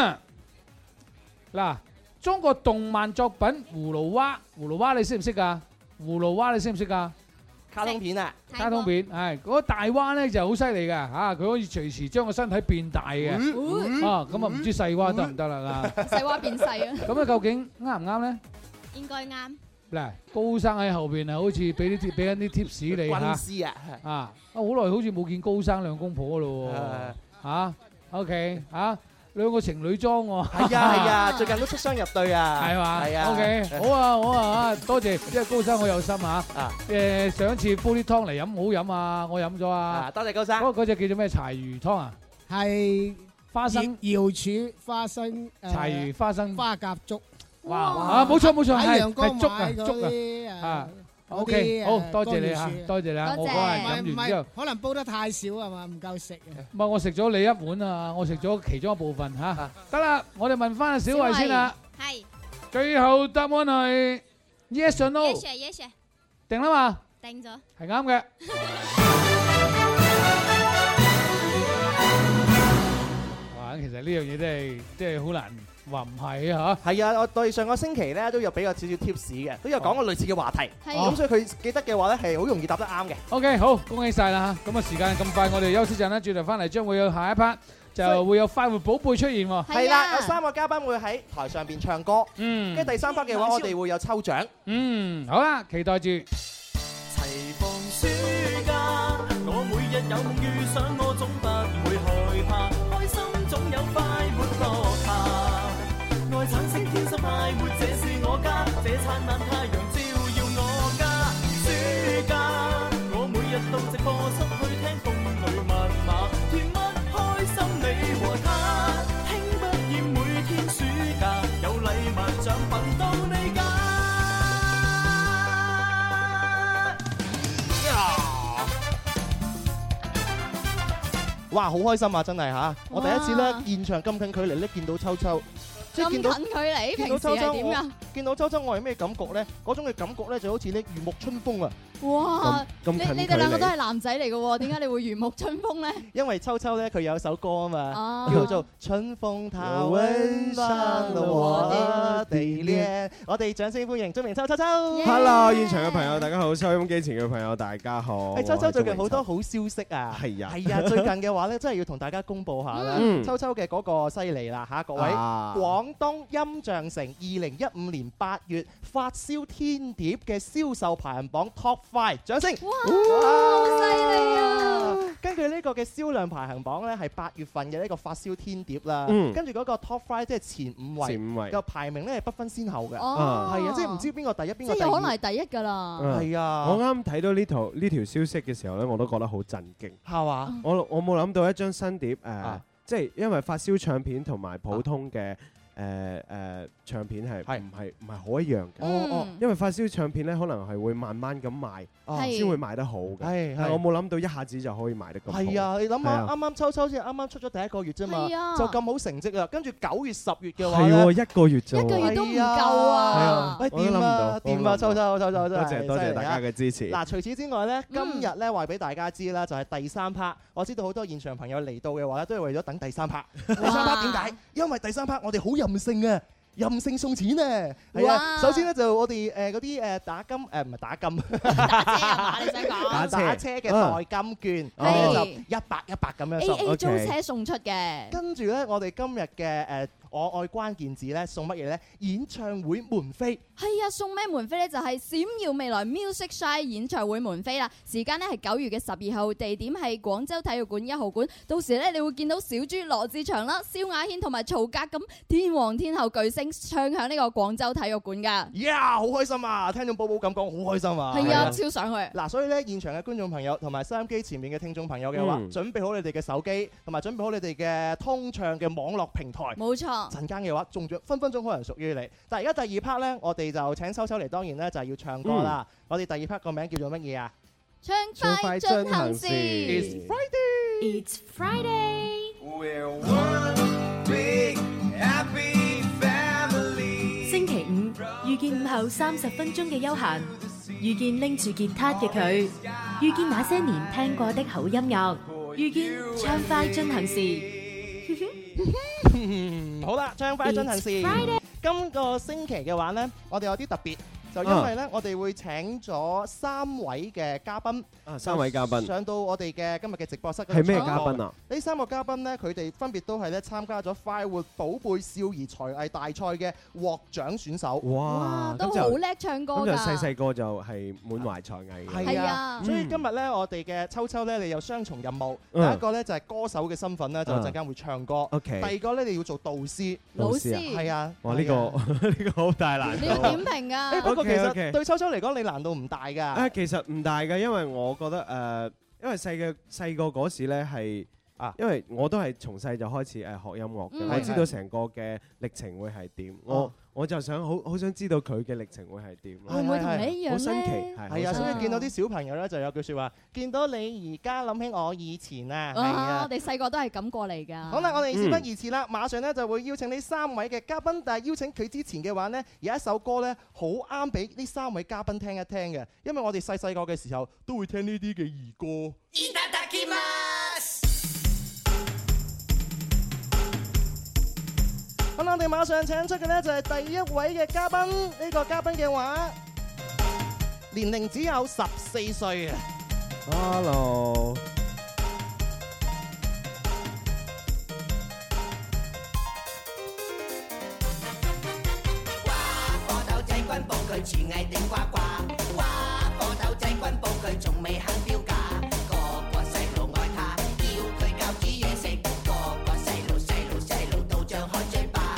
嗱，中國動漫作品《葫蘆娃》，葫蘆娃你識唔識㗎？葫蘆娃你識唔識㗎？ 卡通片啊， 卡通片係嗰個大蛙咧就好犀利㗎嚇，佢可以隨時將個身體變大嘅。啊，咁啊唔知細蛙得唔得啦？ 細蛙變細啊！ 咁啊究竟啱唔啱咧？ 應該啱。 嗱，高生喺後邊係好似俾啲貼俾緊啲 tips 你嚇。軍師啊！ 啊，啊好耐好似冇見高生兩公婆咯喎。嚇 ，OK 嚇。兩個情侶裝喎， 係啊係啊，最近都出雙入對啊， 係嘛？ 係啊 ，OK，好啊好啊，多謝，因為高生好有心啊，誒上一次煲啲湯嚟飲好飲啊，我飲咗啊， 多謝高生。 嗰嗰隻叫做咩柴魚湯啊？ 係花生瑤柱花生柴魚花生花甲粥。 哇！啊冇錯冇錯，係陽光係粥啊買粥嗰啊。 嗰 OK， 啲好誒多謝你嚇乾魚樹多謝你啊！我嗰日飲完之後， 可能煲得太少係嘛，唔夠食啊。 唔係我食咗你一碗啊，我食咗其中一部分嚇。得啦，我哋問翻阿小慧先啦。 係。 最後答案係 yes or no？ Yes sir, yes sir。 定啦嘛？ 定咗。 係啱嘅。哇！其實呢樣嘢真係真係好難話唔係啊嚇。 係啊，我對上個星期咧都有俾過少少 tips 嘅，都有講過類似嘅話題。 係咁所以佢記得嘅話咧係好容易答得啱嘅。 OK， 好，恭喜晒啦嚇！咁啊時間咁快，我哋休息陣啦，轉頭翻嚟將會有下一 part，就會有快活寶貝出現喎。 係啦，有三個嘉賓會喺台上邊唱歌。 嗯。 跟住第三 part 嘅話，我哋會有抽獎。 嗯，好啦，期待住。 齊放暑假，我每日有夢遇上我總不會害怕，開心總有快活落下，愛產生天生快活，這是我家，這燦爛太陽照耀我家。暑假，我每日到直播室去聽風裏密碼，甜蜜開心你和他，輕不厭每天暑假，有禮物獎品到你家。 哇，好開心啊！真係嚇，我第一次咧現場咁近距離咧見到秋秋，即係見到咁近距離， 見到平時秋秋係點㗎？ 見到秋秋我係咩感覺咧？嗰種嘅感覺咧就好似咧如沐春風啊！ 哇！ 咁你你哋兩個都係男仔嚟嘅喎，點解你會如沐春風咧？ 因為秋秋咧佢有首歌啊嘛， 哦叫做《春風它溫暖了我的地戀》。我哋掌聲歡迎鍾明秋秋秋。 Hello， 現場嘅朋友大家好，收音機前嘅朋友大家好。 誒，秋秋最近好多好消息啊！ 係啊， 係啊，最近嘅話咧，真係要同大家公佈下啦。 嗯秋秋嘅嗰個犀利啦嚇，各位！ 啊廣東音像城二零一五年八月發燒天碟嘅銷售排行榜 Top Five， 掌聲！ 哇，好犀利啊！ 根據呢個嘅銷量排行榜咧，係八月份嘅呢個發燒天碟啦。 嗯跟住嗰個 Top Five 即係前五位， 前五位個排名咧係不分先後嘅。 哦係啊，即係唔知邊個第一邊個第即係有可能二。 係第一㗎啦。 係啊我啱睇到呢條呢條消息嘅時候咧，我都覺得好震驚。 係嘛？ 我我冇諗到一張新碟誒， 啊即係因為發燒唱片同埋普通嘅誒誒唱片係係唔係唔係好一樣嘅？ 哦哦因為發燒唱片咧，可能係會慢慢咁賣， 係先會賣得好嘅。 係係但我冇諗到一下子就可以賣得咁好。 係啊，你諗下， 係啊啱啱秋秋先啱啱出咗第一個月啫嘛， 係啊就咁好成績啦。跟住九月、十月嘅話係喎， 咧， 一個月啫喎。 一個月都唔夠係啊啊！ 喂， 我都諗唔掂啊到， 掂啊，秋秋秋秋真多係謝多謝大家犀利啊嘅支持。 嗱，除此之外咧，今日咧話俾大家知啦，就係第三 part。我知道好多現場朋友嚟到嘅話咧，都係為咗等第三 part。第三 part 點解？因為第三 part 我哋好任性啊！任性送錢啊！係啊， 哇首先咧就我哋誒嗰啲誒打金誒唔係打金， 打車啊嘛，你想講？ 打車嘅代金券， 係咁就一百一百咁樣 A 送。 A 租車送出嘅。 跟住咧，我哋今日嘅誒我愛關鍵字咧送乜嘢咧？演唱會門飛。 係啊，送咩門飛呢？就係閃耀未來 Music Shine 演唱會門飛啦。時間呢係九月嘅十二號，地點係廣州體育館一號館。到時呢，你會見到小豬羅志祥啦、蕭亞軒同埋曹格咁天王天后巨星唱響呢個廣州體育館㗎。 呀，好開心啊！聽到寶寶咁講，好開心啊！ 係啊，超想去。 嗱，所以咧，現場嘅觀眾朋友同埋收音機前面嘅聽眾朋友嘅話， 嗯準備好你哋嘅手機，同埋準備好你哋嘅通暢嘅網絡平台。 冇錯。 陣間嘅話，中咗分分鐘可能屬於你。但係而家第二 part 咧，我哋就請秋秋嚟，當然咧就係要唱歌啦。 嗯我哋第二 part 個名叫做乜嘢啊？ 唱快進行時。 It's Friday. It's Friday. We're one big happy family. 星期五遇見夠三十分鐘嘅休閒，遇見拎住吉他嘅佢，遇見那些年聽過的好音樂，遇見暢快進行時。 好啦，暢快進行時。今個星期嘅話呢，我哋有啲特別。就因為咧，啊、我哋會請咗三位嘅嘉賓， 啊，三位嘉賓上到我哋嘅今日嘅直播室。 係咩嘉賓啊？ 呢三個嘉賓咧，佢哋分別都係咧參加咗快活寶貝少兒才藝大賽嘅獲獎選手。 哇！ 都好叻唱歌㗎。 咁就細細個就係滿懷才藝嘅。 係啊，所以今日咧，我哋嘅秋秋咧，你有雙重任務。第一個咧就係歌手嘅身份咧，就陣間會唱歌。 OK。 第二個咧，你要做導師。 老師。 係啊。 哇！呢個呢個好大難度。 你要點評㗎？ 不過其實對秋秋嚟講，你難度唔大㗎。 啊，其實唔大㗎，因為我覺得誒，因為細嘅細個嗰時咧係啊，因為我都係從細就開始誒學音樂嘅，我知道成個嘅歷程會係點，我我就想好好想知道佢嘅歷程會係點。 會唔會同你一樣咧？ 好新奇， 係啊，所以見到啲小朋友咧就有句説話，見到你而家諗起我以前啊，係啊， 我哋細個都係咁過嚟㗎。 好啦，我哋事不宜遲啦，馬上咧就會邀請呢三位嘅嘉賓，但係邀請佢之前嘅話呢，有一首歌咧好啱俾呢三位嘉賓聽一聽嘅，因為我哋細細個嘅時候都會聽呢啲嘅兒歌。咁我哋馬上請出嘅呢就係第一位嘅嘉賓，呢、這個嘉賓嘅話年齡只有十四歲啊 ！Hello， 哇！火頭仔軍報佢廚藝頂呱呱，哇！火頭仔軍報佢仲未肯標價，個個細路愛他，要佢教煮嘢食，個個細路細路細路都張開嘴巴。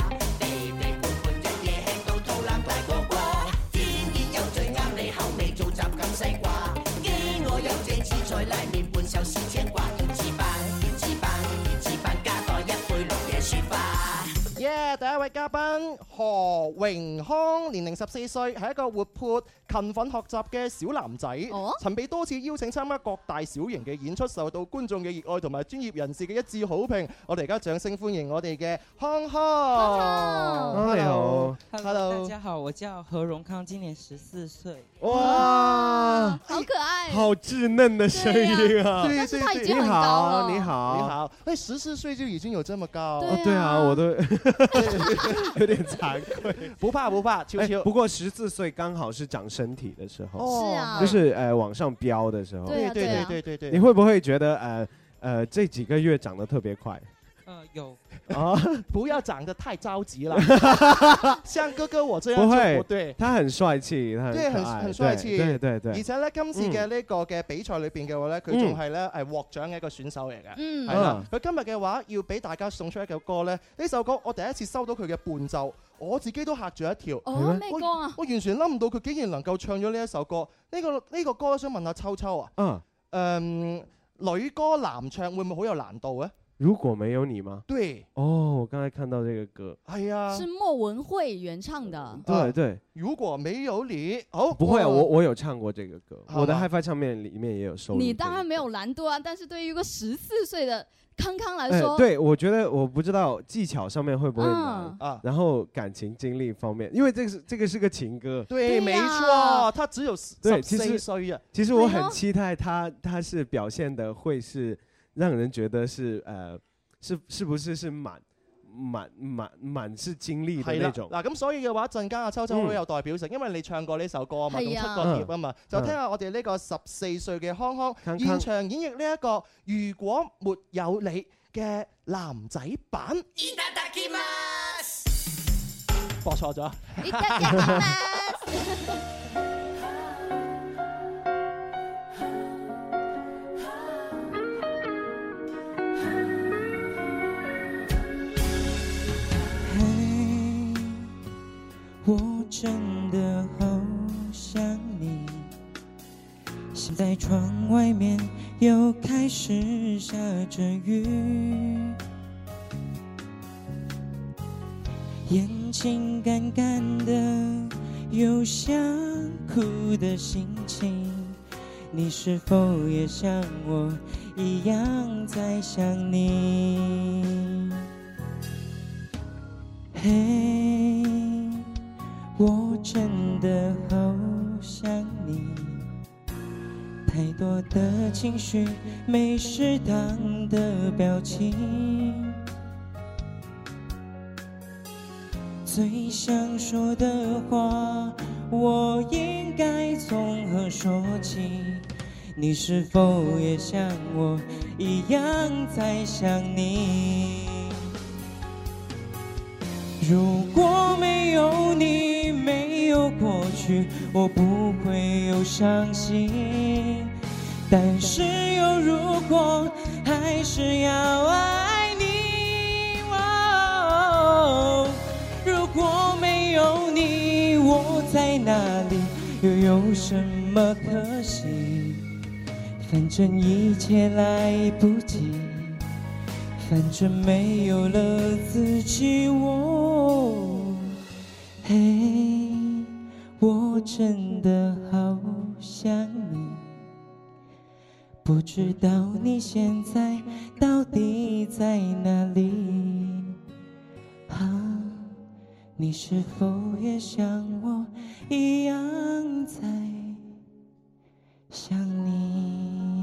再拉麵半壽司青瓜，胭脂棒胭脂棒胭脂棒，加多一杯綠野雪花。 耶！第一位嘉賓何榮康，年齡十四歲，係一個活潑勤奮學習嘅小男仔， 哦、 曾被多次邀請參加各大小型嘅演出，受到觀眾嘅熱愛同埋專業人士嘅一致好評。我哋而家掌聲歡迎我哋嘅康康。 你好 ，Hello， 大家好，我叫何榮康，今年十四歲。 哇， 好可愛， 好稚嫩的聲音啊！ 但是他已經很高了。 你好， 你好，哎，十四歲就已經有這麼高？ 對啊，我都有點慚愧。 不怕不怕，秋秋。 不過十四歲剛好是長身體的時候， 是啊， 就是呃往上飆的時候。 對對對對對對。 你會不會覺得呃呃這幾個月長得特別快？ 呃，有啊，不要長得太着急了，像哥哥我這樣就不會， 不對。 他很帥氣，他很對，很很帥氣， 對對對。 而且咧，今次嘅呢個嘅比賽裏邊嘅話咧，佢仲係咧係獲獎嘅一個選手嚟嘅， 嗯， 係啦。佢今日嘅話要俾大家送出一首歌咧，呢首歌我第一次收到佢嘅伴奏，我自己都嚇住一跳。 哦，咩歌啊？ 我完全諗唔到佢竟然能夠唱咗呢一首歌。呢個呢個歌想問下秋秋啊， 嗯， 誒，女歌男唱會唔會好有難度咧？ 如果沒有你嗎？ 對， 哦，我剛才看到這個歌， 係啊， 是莫文蔚原唱的。 對對， 如果沒有你，好， 不會啊，我我有唱過這個歌，我的 HiFi 唱片裡面也有收錄。 你當然沒有難度啊，但是對於一個十四歲的康康來說， 對，我覺得我不知道技巧上面會不會難啊， 然後感情經歷方面，因為這個是這個是個情歌， 對，沒錯，他只有十四歲啊。 其實我很期待他，他是表現的會是。讓人覺得是呃，是是不是是滿滿滿滿是經歷的那種。 嗱咁所以嘅話，陣間阿秋秋好有代表性，因為你唱過呢首歌啊嘛，仲出過碟啊嘛，就聽下我哋呢個十四歲嘅康康現場演繹呢一個如果沒有你嘅男仔版。播錯咗。 我真的好想你，現在窗外面又開始下着雨，眼睛乾乾的，有想哭的心情，你是否也像我一樣在想你？嘿， 我真的好想你，太多的情绪没适当的表情，最想说的话我应该从何说起？你是否也像我一样在想你？如果没有你，没有过去，我不会有伤心。但是有如果，还是要爱你。哦，如果没有你，我在哪里，又有什么可惜？反正一切来不及，反正没有了自己。我，嘿，我真的好想你，不知道你现在到底在哪里？啊，你是否也像我一样在想你？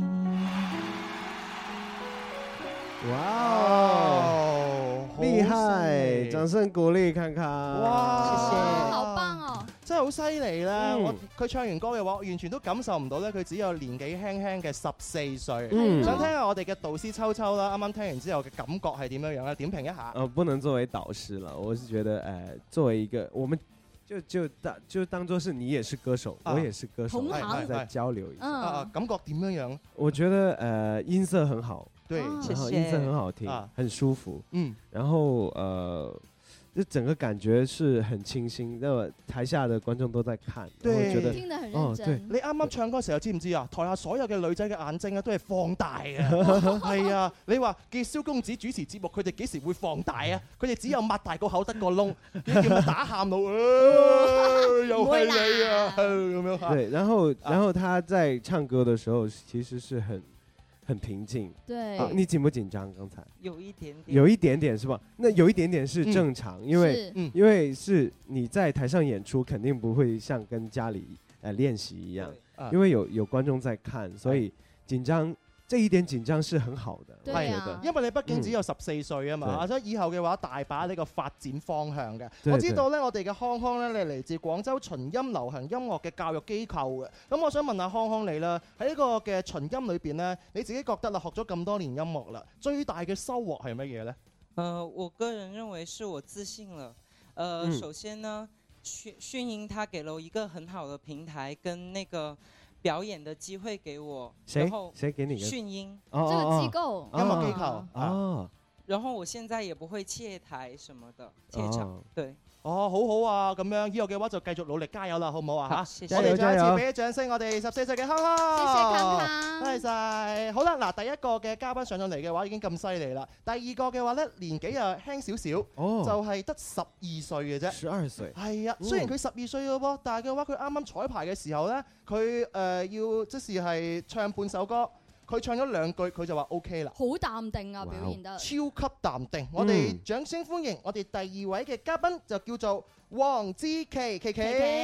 哇哦，厲害！掌聲鼓勵看看。 哇， 謝謝，好棒哦！ 真係好犀利啦！ 嗯我佢唱完歌嘅話，我完全都感受唔到咧，佢只有年紀輕輕嘅十四歲。 嗯想聽下我哋嘅導師秋秋啦，啱啱聽完之後嘅感覺係點樣樣咧？點評一下。 呃，不能作為導師了，我是覺得，呃，作為一個，我們就就當就當做是你也是歌手， 啊我也是歌手， 同行再交流一下。 啊啊，感覺點樣樣？ 我覺得，呃，音色很好， 對， 然後謝謝音色很好聽， 啊很舒服， 嗯， 然後呃。就整個感覺是很清新，那麼台下的觀眾都在看，我覺得聽得很哦， 認真。 對， 你啱啱唱歌嘅時候知唔知啊？台下所有嘅女仔嘅眼睛啊，都係放大嘅。係啊，你話叫蕭公子主持節目，佢哋幾時會放大啊？佢哋只有擘大個口得個窿，叫佢打喊路，又係你啊咁樣。 對，然後然後他在唱歌的時候，其實是很很平靜。 對、 啊，你緊不緊張？剛才有一點點， 有一點點是吧？那有一點點是正常， 嗯、 因為、 嗯、 因為是你在台上演出，肯定不會像跟家裡呃練習一樣， 啊、 因為有有觀眾在看，所以緊張。這一點緊張是很好的， 係啊， 因為你畢竟只有十四歲啊嘛，所以以後嘅話大把呢個發展方向嘅。 對我知道咧，我哋嘅康康咧，你嚟自廣州秦音流行音樂嘅教育機構嘅。咁我想問下康康你啦，喺呢個嘅秦音裏邊咧，你自己覺得啦，學咗咁多年音樂啦，最大嘅收穫係乜嘢咧？ 呃，我個人認為是我自信了。呃，嗯、首先呢，訊訊音它給了我一個很好的平台，跟那個表演的機會給我，然後誰給你的訊音、 哦、 這個機構、 音樂機構哦，哦， 然後我現在也不會怯台什麼的，怯場、哦，對。 哦，好好啊，咁樣以後嘅話就繼續努力加油啦，好唔好啊？嚇， 謝謝我哋再一次俾啲掌聲，我哋十四歲嘅康康， 謝謝康康， 多謝晒。好啦，嗱，第一個嘅嘉賓上到嚟嘅話已經咁犀利啦，第二個嘅話咧年紀又輕少少， 哦、 就係得十二歲嘅啫。 十二歲。 係啊，雖然佢十二歲嘅喎，但係嘅話佢啱啱彩排嘅時候咧，佢誒、呃、要即是係唱半首歌。佢唱咗兩句，佢就話 OK 啦， 好淡定啊，表現得超級淡定。嗯、我哋掌聲歡迎我哋第二位嘅嘉賓，就叫做黃之琪，琪琪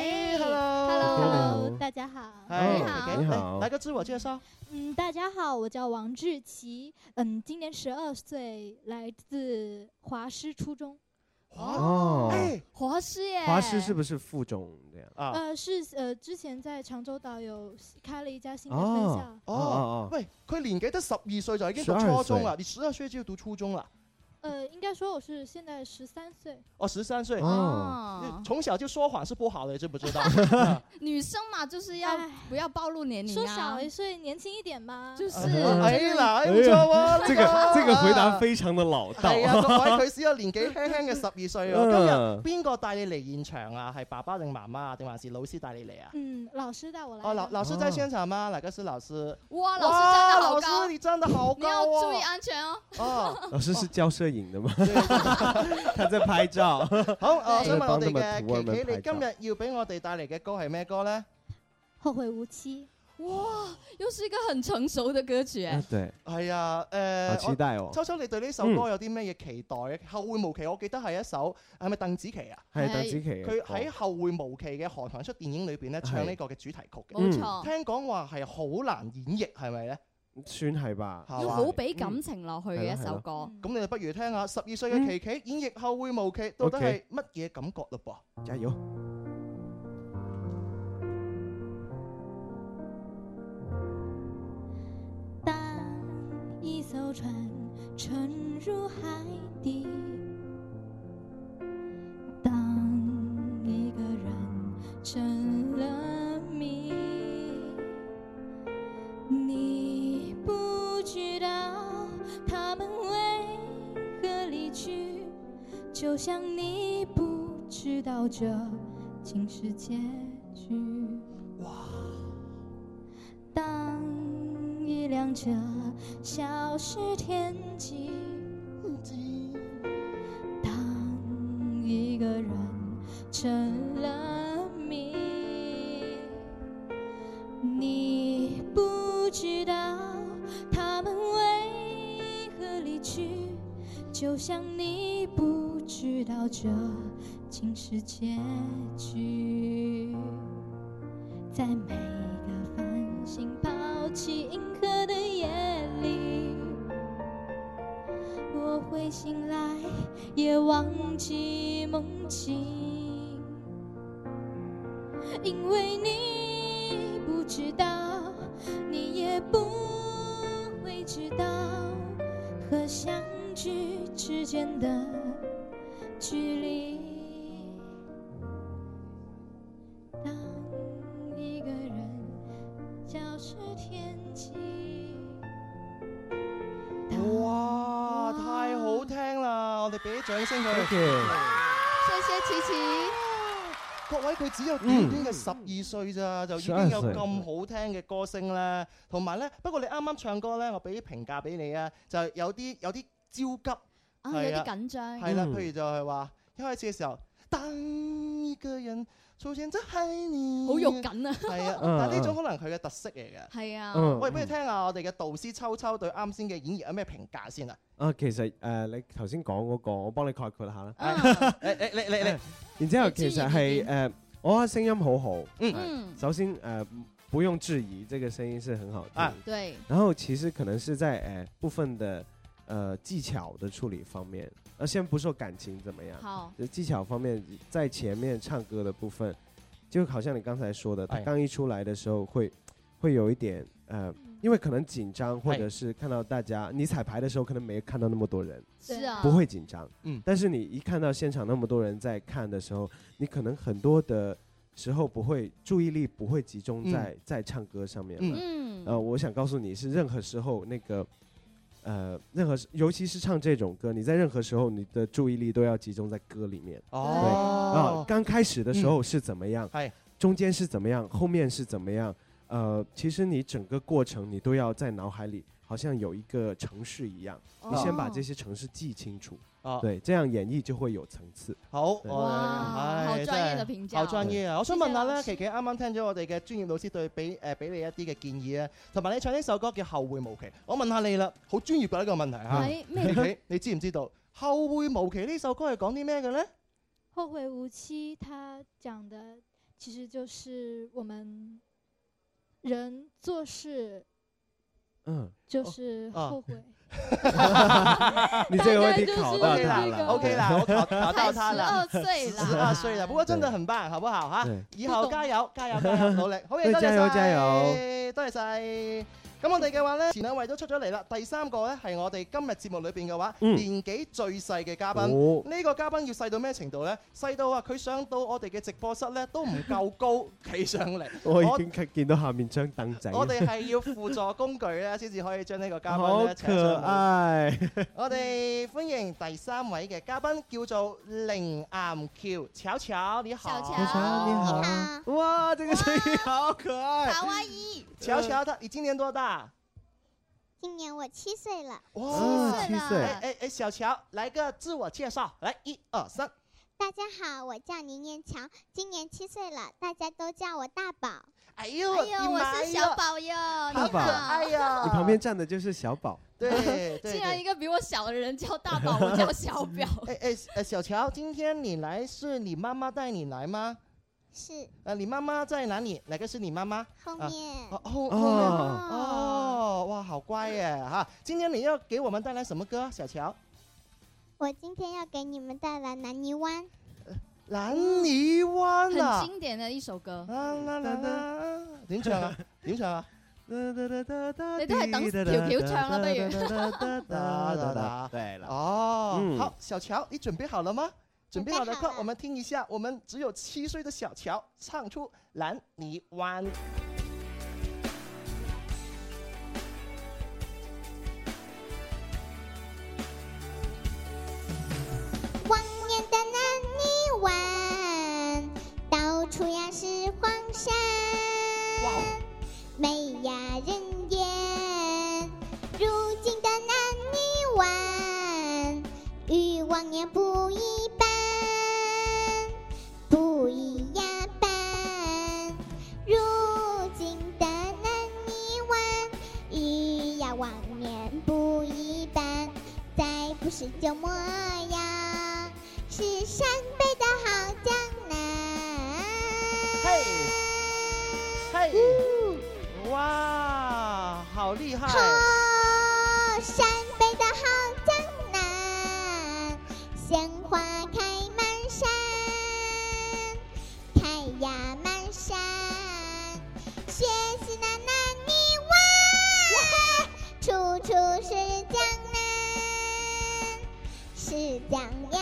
，Hello，Hello，大家好， 你好，你好，來個自我介紹。 嗯，大家好，我叫王志琪，嗯，今年十二歲，來自華師初中。 哦， 哎，華師耶！ 華師是不是附中這樣啊？呃，是呃，之前在長洲島有開了一家新的分校。 哦哦，喂，佢年紀得十二歲就已經讀初中啦，你十二歲就讀初中啦？ 呃，應該說我是現在十三歲。 哦，十三歲哦， 從小就說謊是不好的，知不知道？ 女生嘛，就是要不要暴露年齡啊？ 說小一歲，年輕一點嘛。 就是， 哎呀，唔錯喎， 這個這個回答非常的老道。 係啊，各位佢只有年紀輕輕嘅十二歲喎。今日邊個帶你嚟現場啊？係爸爸定媽媽啊？定還是老師帶你嚟啊？ 嗯，老師帶我來。 哦，老老師在現場嗎？哪個是老師？ 哇，老師站得好高， 老師你站得好高， 你要注意安全哦。 哦， 老師是教攝影的嗎？他在拍照。 好，我想問我哋嘅琪琪，你今日要俾我哋帶嚟嘅歌係咩歌咧？ 後會無期。 哇，又是一個很成熟的歌曲。 啊對， 係啊，誒， 好期待哦。 秋秋，你對呢首歌有啲咩嘢期待嘅？後會無期，我記得係一首係咪鄧紫棋啊？ 係鄧紫棋嘅歌。 佢喺後會無期嘅韓寒出電影裏邊咧唱呢個嘅主題曲嘅。 冇錯。 聽講話係好難演繹，係咪咧？ 算係吧。 要好俾感情落去嘅一首歌。 咁你就不如聽下十二歲嘅琪琪演繹後會無期，到底係乜嘢感覺嘞噃？ 加油！ 當一艘船沉入海底，當一個人成了謎，你不知道他們為何離去，就像你不知道這竟是結局。哇！當一輛車消失天際，當一個人成了謎，你不知道他們為何離去，就像你不知道這竟是結局。在每個繁星拋棄銀河的夜裡，我會醒來也忘記夢境，因為你不知道，你也不會知道和相聚之間的距離。當一個人消失天際。 哇，太好聽啦！我哋俾啲掌聲佢。 謝謝琪琪。 各位，佢只有短短嘅十二歲咋，就已經有咁好聽嘅歌聲咧。同埋咧，不過你啱啱唱歌咧，我俾啲評價俾你啊，就有啲有啲焦急， 啊，有啲緊張。 係啦，譬如就係話一開始嘅時候，當一個人出現在海裡， 好肉緊啊！ 係啊，但係呢種可能佢嘅特色嚟嘅。 係啊。 喂，不如聽下我哋嘅導師秋秋對啱先嘅演繹有咩評價先啊？ 啊，其實誒，你頭先講嗰個，我幫你概括下啦。 誒誒，你你你， 然之後其實係誒，我覺得聲音好好。 嗯。 首先誒，不用質疑，這個聲音是很好聽。 啊，對。 然後其實可能是在誒部分的呃技巧的處理方面，呃，先不說感情怎麼樣， 好， 技巧方面在前面唱歌的部分，就好像你剛才說的，他剛一出來的時候會會有一點呃，因為可能緊張，或者是看到大家，你彩排的時候可能沒看到那麼多人， 是啊， 不會緊張， 嗯， 但是你一看到現場那麼多人在看的時候，你可能很多的時候不會注意力不會集中在、嗯、在唱歌上面，嗯，呃，我想告訴你是任何時候那個。呃，任何尤其是唱這種歌，你在任何時候你的注意力都要集中在歌裡面。哦，對啊，剛開始的時候是怎麼樣？ 係、嗯， 中間是怎麼樣？後面是怎麼樣？呃，其實你整個過程你都要在腦海裡，好像有一個程式一樣，哦、你先把這些程式記清楚。哦，對，這樣演繹就會有層次。 好， 哇，好專業的評價， 好專業啊！我想問下咧，琪琪啱啱聽咗我哋嘅專業老師對俾誒俾你一啲嘅建議啊，同埋你唱呢首歌叫《後會無期》，我問下你啦，好專業嘅呢個問題嚇。琪琪，你知唔知道《後會無期》呢首歌係講啲咩嘅咧？ 後會無期，它講的其實就是我們人做事，嗯，就是後悔。 你這個問題考到他了 ，OK 啦，我考考到他了， 十二歲啦， 十二歲啦，不過真的很棒，好不好哈？以後加油，加油，加油，努力，好嘢，多謝加油，加油，多謝晒。咁我哋嘅話咧，前兩位都出咗嚟啦。第三個咧係我哋今日節目裏邊嘅話，嗯、年紀最細嘅嘉賓。呢、哦、個嘉賓要細到咩程度咧？細到啊，佢上到我哋嘅直播室咧都唔夠高企上嚟。 我已經見到下面張凳仔。 我哋係要輔助工具咧，先至可以將呢個嘉賓好咧請上嚟。 可愛。 我哋歡迎第三位嘅嘉賓，叫做凌岩橋，巧巧你好。 巧巧你好。哇，這個聲音好可愛。 卡哇伊。 巧巧，他你今年多大？ 今年我七歲了。 哇， 七歲。 哎哎哎，小喬，來個自我介紹，來一二三。 大家好，我叫倪念强，今年七岁了，大家都叫我大宝。 哎呦， 哎呦，我是小宝哟， 大宝， 哎呀， 你旁边站的就是小宝。 对， 竟然一个比我小的人叫大宝，我叫小表。 哎哎哎，小乔，今天你来是你妈妈带你来吗？ 是。 呃，你妈妈在哪里？哪个是你妈妈？ 后面。 哦后后面。哦，哇，好乖耶哈！今天你要给我们带来什么歌，小乔？ 我今天要给你们带来《南泥湾》。 南泥湾啊， 很经典的一首歌。 啦啦啦啦，點唱啊？點唱啊？ 你都係等條橋唱啦，不如。 對了。哦，好，小喬，你準備好了嗎？準備好了，快，我們聽一下，我們只有七歲的小喬唱出《南泥灣》。 往年的南泥湾，到处呀是黄山，美呀人烟。如今的南泥湾，与往年不一般，不一呀般。如今的南泥湾，与呀往年不一般，再不是旧模样。是陕北的好江南。 嘿，嘿，哇，好厉害！ 哦，陕北的好江南，鲜花开满山，开呀满山。学习那南泥湾，处处是江南，是江呀。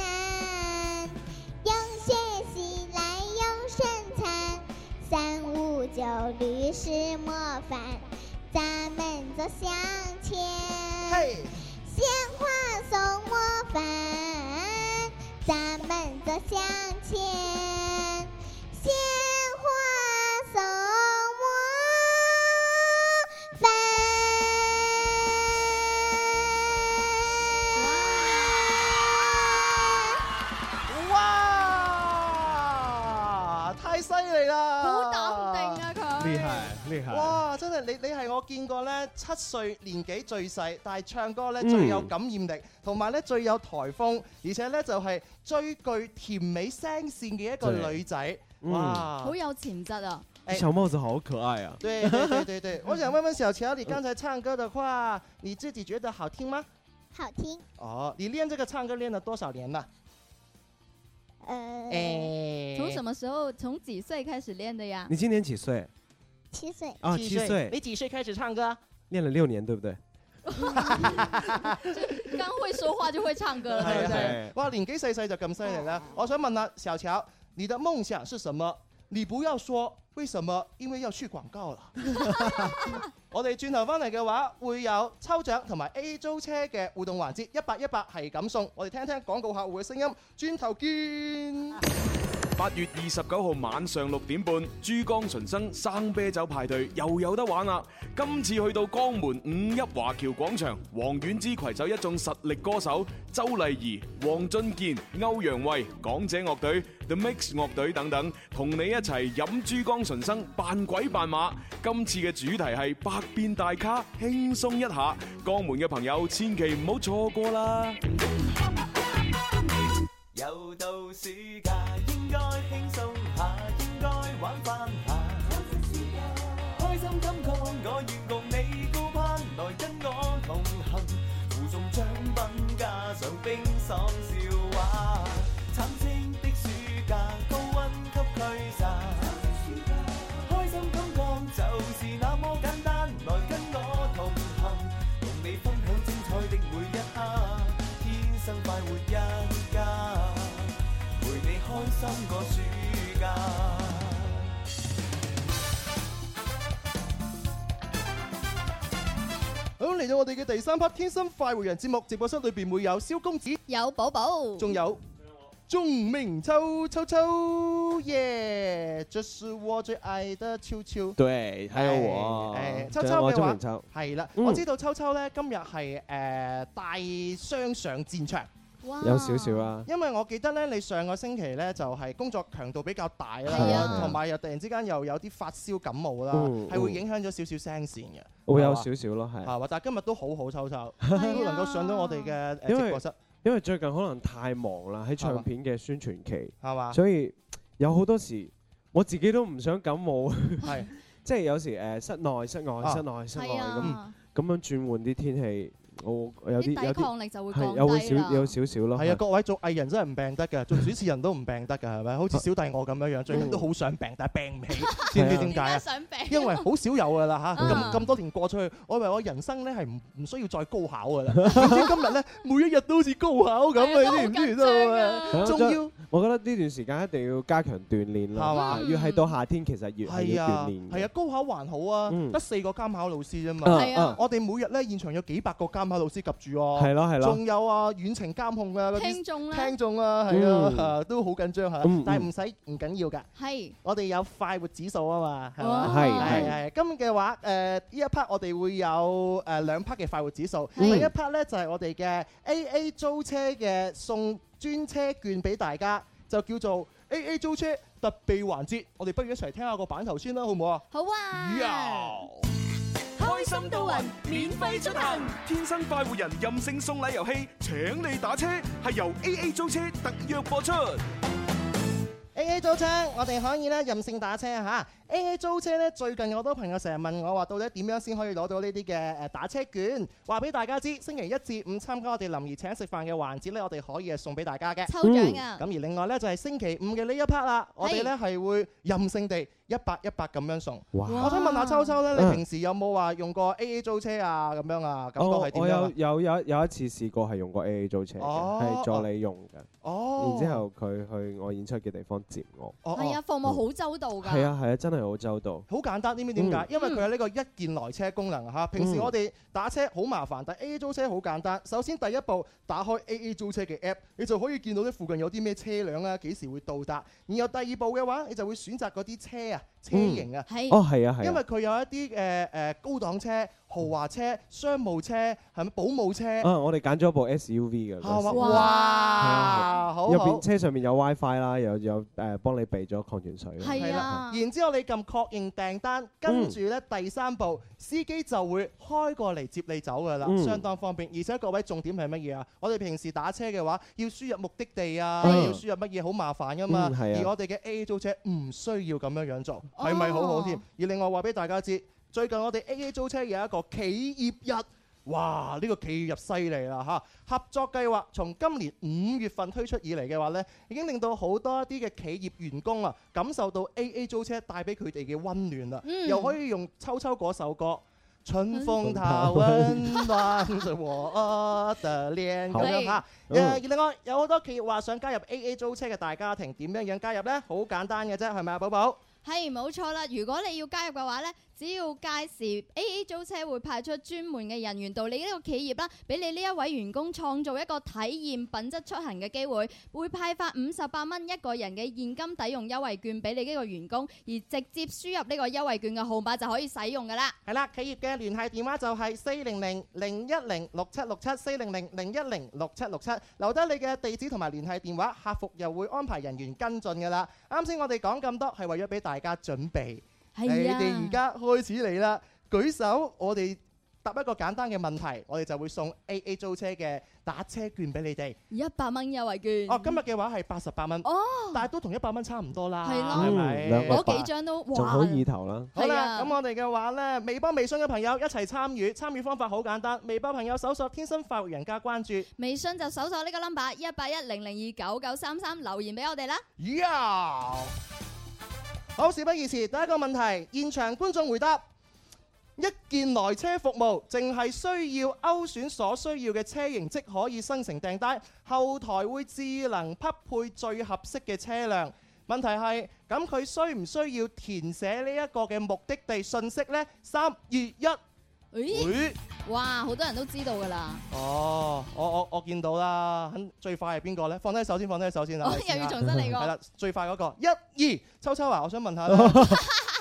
九律是模范，咱们走向前。鲜花送模范，咱们走向前。鲜花送模范。 哇，太犀利啦！ 好淡定啊佢。 厲害厲害！ 哇，真係你你係我見過咧七歲年紀最細，但係唱歌咧最有感染力，同埋咧最有台風，而且咧就係最具甜美聲線嘅一個女仔。哇， 好有潛質啊！ 小帽子好可愛啊！ 對對對對對，我想問問小喬，你剛才唱歌的話，你自己覺得好聽嗎？ 好聽。 哦，你練這個唱歌練了多少年了？ 呃， 誒，從什麼時候？從幾歲開始練的呀？ 你今年幾歲？ 七歲。 啊，七歲。 你幾歲開始唱歌？ 練了六年，對不對？ 剛會說話就會唱歌了，對不對？ 哇，年紀細細就咁犀利啦！我想問下小喬，你的夢想是什麼？你不要說為什麼，因為要去廣告了。我哋轉頭翻嚟嘅話，會有抽獎同埋 A 租車嘅互動環節，一百一百係咁送。我哋聽聽廣告客戶嘅聲音，轉頭見。 八月二十九號晚上六點半，珠江純生生啤酒派對又有得玩啦！今次去到江門五一華僑廣場，黃婉之攜手一眾實力歌手周麗儀、黃俊健、歐陽衛、港姐樂隊、The Mix 樂隊等等，同你一齊飲珠江純生，扮鬼扮馬。今次嘅主題係百變大咖，輕鬆一下。江門嘅朋友千祈唔好錯過啦！ 又到暑假，應該輕鬆下，應該玩翻下。開心感覺，我願共你高攀，來跟我同行。附送獎品加上冰爽笑話，慘清的暑假，高溫給驅散。開心感覺就是那麼簡單，來跟我同行，同你分享精彩的每一刻，天生快活一家。開心個暑假。 好，嚟到我哋嘅第三 part《天生快活人》節目，直播室裏邊會有蕭公子， 有寶寶， 仲有鐘明秋秋秋耶！這是我最愛的秋秋。 對，還有我， 誒，秋秋嘅話係啦，我知道秋秋咧今日係誒帶傷上戰場。 有少少啦。 因為我記得咧，你上個星期咧就係工作強度比較大啦，同埋又突然之間又有啲發燒感冒啦，係會影響咗少少聲線嘅。 會有少少咯，係。 係嘛？但係今日都好好抽抽，都能夠上到我哋嘅誒直播室。 因為最近可能太忙啦，喺唱片嘅宣傳期， 係嘛？ 所以有好多時我自己都唔想感冒， 係即係有時誒室內、室外、室內、室外咁咁樣轉換啲天氣。我有啲有啲抵抗力就會降低啦。 有少有少少咯。 係啊，各位做藝人真係唔病得㗎，做主持人都唔病得㗎，係咪？好似小弟我咁樣樣，最近都好想病，但係病唔起，知唔知點解啊？因為好少有㗎啦嚇，咁咁多年過出去，我以為我人生咧係唔唔需要再高考㗎啦。點知今日咧每一日都好似高考咁啊！你知唔知道啊？仲要我覺得呢段時間一定要加強鍛鍊啦，係嘛？越係到夏天，其實越係要鍛鍊。 係啊，高考還好啊，得四個監考老師啫嘛。 係啊， 我哋每日咧現場有幾百個監考老師及住喎。 係咯係咯。 仲有啊遠程監控啊嗰啲聽眾啦， 聽眾啊係啊，都好緊張嚇。但係唔使唔緊要㗎。係。我哋有快活指數啊嘛，係嘛？係係係。今日嘅話誒呢一 part 我哋會有誒兩 part 嘅快活指數。第一 part 咧就係我哋嘅 A A 租車嘅送專車券俾大家，就叫做 A A 租車特備環節。我哋不如一齊聽下個版頭先啦，好唔好啊？ 好啊！ 開心到暈，免費出行，天生快活人任性送禮遊戲，請你打車，係由 A A 租車特約播出。 A A 租車，我哋可以咧任性打車嚇。A A 租車咧，最近有好多朋友成日問我話，到底點樣先可以攞到呢啲嘅誒打車券？話俾大家知，星期一至五參加我哋林怡請食飯嘅環節咧，我哋可以係送俾大家嘅抽獎啊！ 咁而另外咧就係星期五嘅呢一 part 啦，我哋咧係會任性地一百一百咁樣送。 哇！ 我想問下秋秋咧，你平時有冇話用過 A A 租車啊？咁樣啊，感覺係點樣？ 我有有有有一次試過係用過 A A 租車嘅，係助理用嘅。哦。然之後佢去我演出嘅地方接我。 係啊，服務好周到㗎。 係啊係啊，真係好周到。 好簡單，知唔知點解？因為佢有呢個一鍵來車功能嚇。平時我哋打車好麻煩，但係 A A 租車好簡單。首先第一步，打開 A A 租車嘅 app， 你就可以見到啲附近有啲咩車輛啊，幾時會到達。然後第二步嘅話，你就會選擇嗰啲車啊、車型啊。 係。 哦，係啊，係。 因為佢有一啲誒誒高檔車、豪華車、商務車，係咪保姆車？ 啊，我哋揀咗部 S U V 嘅。 哇！哇！好。 入邊車上面有 WiFi 啦，有有誒幫你備咗礦泉水。 係啊。 然之後你撳確認訂單，跟住咧第三步，司機就會開過嚟接你走㗎啦，相當方便。而且各位重點係乜嘢啊？我哋平時打車嘅話，要輸入目的地啊，要輸入乜嘢好麻煩㗎嘛。而我哋嘅 A A 租車唔需要咁樣樣做，係咪好好添？而另外話俾大家知，最近我哋 A A 租車有一個企業日。哇！呢個企業入犀利啦嚇，合作計劃從今年五月份推出以嚟嘅話呢，已經令到好多一啲嘅企業員工啊感受到 A A 租車帶俾佢哋嘅温暖啦，嗯、又可以用秋秋嗰首歌。春風它溫暖着我的臉咁樣嚇。誒，另外有好多企業話想加入 A A 租車嘅大家庭，點樣樣加入呢？好簡單嘅啫，係咪啊，寶寶？ 係冇錯啦，如果你要加入嘅話呢，只要屆時 A A 租車會派出專門嘅人員到你呢個企業啦，俾你呢一位員工創造一個體驗品質出行嘅機會，會派發五十八蚊一個人嘅現金抵用優惠券俾你呢個員工，而直接輸入呢個優惠券嘅號碼就可以使用㗎啦。 係啦，企業嘅聯繫電話就係四零零零一零六七六七四零零零一零六七六七，留低你嘅地址同埋聯繫電話，客服又會安排人員跟進㗎啦。啱先我哋講咁多係為咗俾大家準備。係啊、你哋而家開始嚟啦，舉手，我哋答一個簡單嘅問題，我哋就會送 A A 租車嘅打車券俾你哋， 一百蚊優惠券。 哦，今日嘅話係八十八蚊，哦，但係都同一百蚊差唔多啦， 係咯，係咪？攞幾張都仲好意頭啦。 好啦，咁我哋嘅話呢，微博、微信嘅朋友一齊參與，參與方法好簡單，微博朋友搜索天生快活人加關注， 微信就搜索呢個 number 一八一零零二九九三三留言俾我哋啦。 呀！好，事不宜遲，第一個問題，現場觀眾回答：一鍵來車服務，淨係需要勾選所需要嘅車型即可以生成訂單，後台會智能匹配最合適嘅車輛。問題係，咁佢需唔需要填寫呢一個嘅目的地信息呢？三二一。 咦？哇！好多人都知道㗎啦。 哦，我我我見到啦。最快係邊個咧？放低手先，放低手先啦。 我又要重新嚟過。 係啦，最快嗰個一二，秋秋啊，我想問下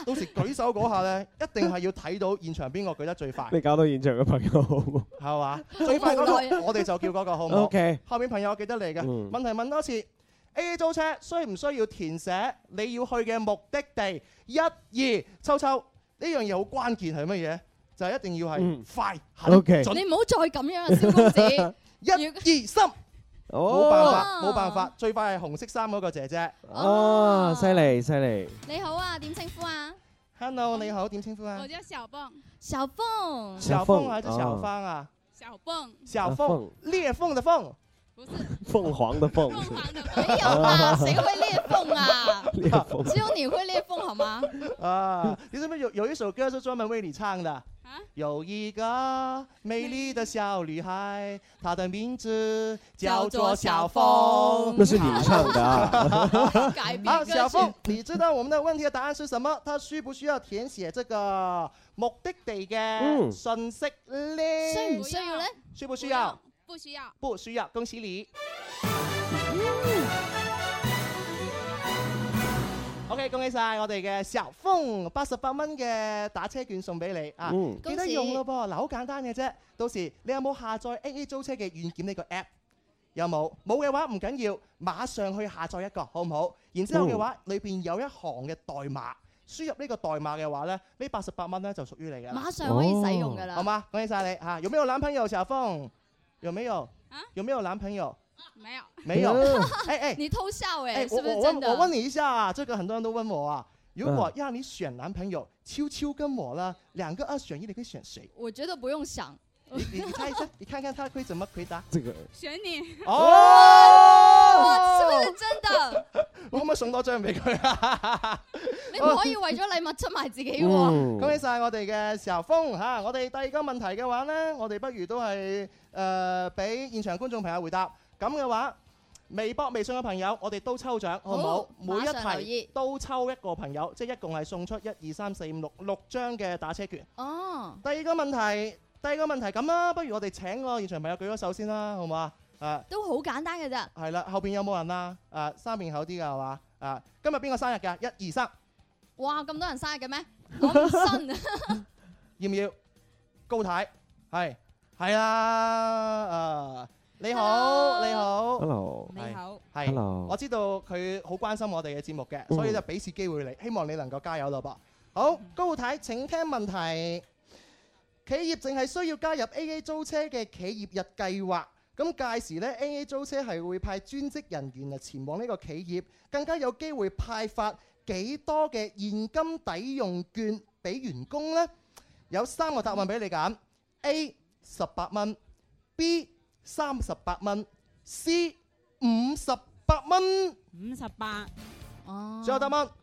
到時舉手嗰下咧，一定係要睇到現場邊個舉得最快。 你搞到現場嘅朋友好唔好？ 係嘛？最快嗰個我哋就叫嗰個好唔好 ？OK。 後面朋友記得你嘅問題問多次。A A 租車需唔需要填寫你要去嘅目的地？一、二，秋秋呢樣嘢好關鍵係乜嘢？就係一定要係快、狠、準。 你唔好再咁樣啊，蕭公子。 一、二、三。冇辦法，冇辦法，最快係紅色衫嗰個姐姐。 哦，犀利犀利。 你好啊，點稱呼啊 ？Hello， 你好，點稱呼啊？ 我叫小鳳。 小鳳。 小鳳還是小芳啊？ 小鳳。 小鳳，裂縫的縫。 鳳凰的鳳。 沒有啦，誰會裂縫啊？ 裂縫。 只有你會裂縫好嗎？ 啊，你是不是有有一首歌是專門為你唱的？有一個美麗的小女孩，她的名字叫做小鳳。 那是你唱的啊。 好，小鳳，你知道我們的問題的答案是什麼？她需不需要填寫這個目的地嘅信息咧？ 需唔需要咧？ 需不需要？ 不需要。 不需要，恭喜你。OK， 恭喜晒我哋嘅小鳳，八十八蚊嘅打車券送俾你啊！ 嗯、 記得用咯噃，嗱，好簡單嘅啫。到時你有冇下載 A A 租車嘅軟件呢個 app？ 有冇？冇嘅話唔緊要，馬上去下載一個，好唔好？然之後嘅話，裏邊有一行嘅代碼，輸入呢個代碼嘅話咧，呢八十八蚊咧就屬於你嘅。 馬上可以使用㗎啦。 好嗎？恭喜晒你嚇！有沒有男朋友，小鳳？有沒有？啊？有沒有男朋友？ 沒有， 沒有。 哎哎，你偷笑哎， 哎， 是不是我真的？ 我問你一下啊，這個很多人都問我啊，如果讓你選男朋友，秋秋跟我呢，兩個二選一，你會選誰？ 我覺得不用想。 你你你猜一下，你看看他會怎麼回答？ 這個選你。 哦， 是不是真的？ 我可唔可以送多張俾佢啊？ 你唔可以為咗禮物出賣自己喎。 恭喜晒我哋嘅時候風嚇，我哋第二個問題嘅話呢，我哋不如都係誒俾現場觀眾朋友回答。咁嘅話，微博、微信嘅朋友，我哋都抽獎，好唔好？每一題都抽一個朋友，即係一共係送出一二三四五六六張嘅打車券。 哦。 第二個問題，第二個問題咁啦，不如我哋請個現場朋友舉咗手先啦，好唔好啊？啊。 都好簡單嘅咋。 係啦，後邊有冇人啊？啊，三面口啲㗎係嘛？啊，今日邊個生日㗎？一二三。 哇！咁多人生日嘅咩？我唔信啊！ 要唔要？高太係係啦，啊。你好，你好 ，Hello， 你好， 係 Hello， 我知道佢好關心我哋嘅節目嘅，所以就俾次機會你，希望你能夠加油咯噃。好，高太請聽問題。企業淨係需要加入 A A 租車嘅企業日計劃，咁屆時呢 A A 租車係會派專職人員嚟前往呢個企業，更加有機會派發幾多嘅現金抵用券俾員工呢？有三個答案俾你揀 ：A 十八蚊 ，B三十八蚊 ，C 五十八蚊。 五十八。 哦。 最後答案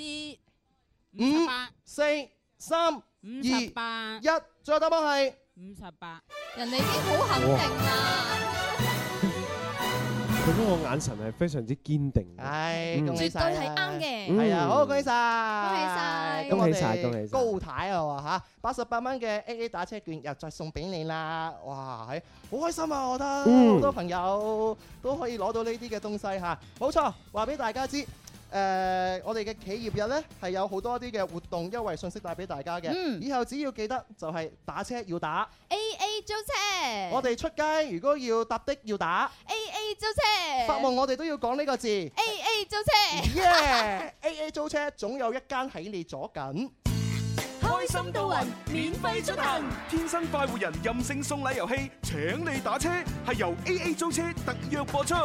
C 五四三二一。最後答案係五十八。 人哋已經好肯定啦。 佢嗰個眼神係非常之堅定。 係，恭喜晒。 絕對係啱嘅。 係啊，好，恭喜晒。 恭喜晒。 恭喜晒，恭喜晒。 高太啊嘛嚇，八十八蚊嘅 A A 打車券又再送俾你啦！哇，係好開心啊！我覺得好多朋友都可以攞到呢啲嘅東西嚇。冇錯，話俾大家知。誒、呃，我哋嘅企業日呢係有好多啲嘅活動優惠信息帶俾大家嘅。嗯、以後只要記得就係打車要打 A A 租車。我哋出街如果要搭的要打 A A 租車。 發夢我哋都要講呢個字 A A 租車。 耶 A A 租車總有一間喺你左近。 開心到暈，免費出行。 天生快活人任性送禮遊戲，請你打車係由 A A 租車特約播出。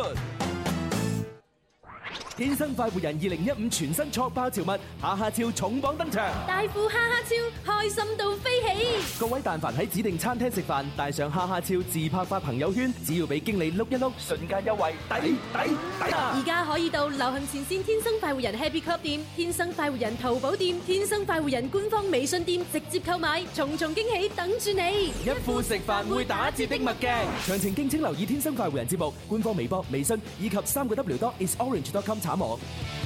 天生快活人二零一五全新挫爆潮物哈哈超重磅登場， 大富哈哈超開心到飛起！ 各位但凡喺指定餐廳食飯，帶上哈哈超自拍發朋友圈，只要俾經理碌一碌，瞬間優惠抵抵抵啊！ 而家可以到流行前線天生快活人 Happy Club 店、天生快活人淘寶店、天生快活人官方微信店直接購買，重重驚喜等住你！ 一副食飯會打折的墨鏡，詳情敬請留意天生快活人節目官方微博、微信以及三個 W dot is orange dot com。查網。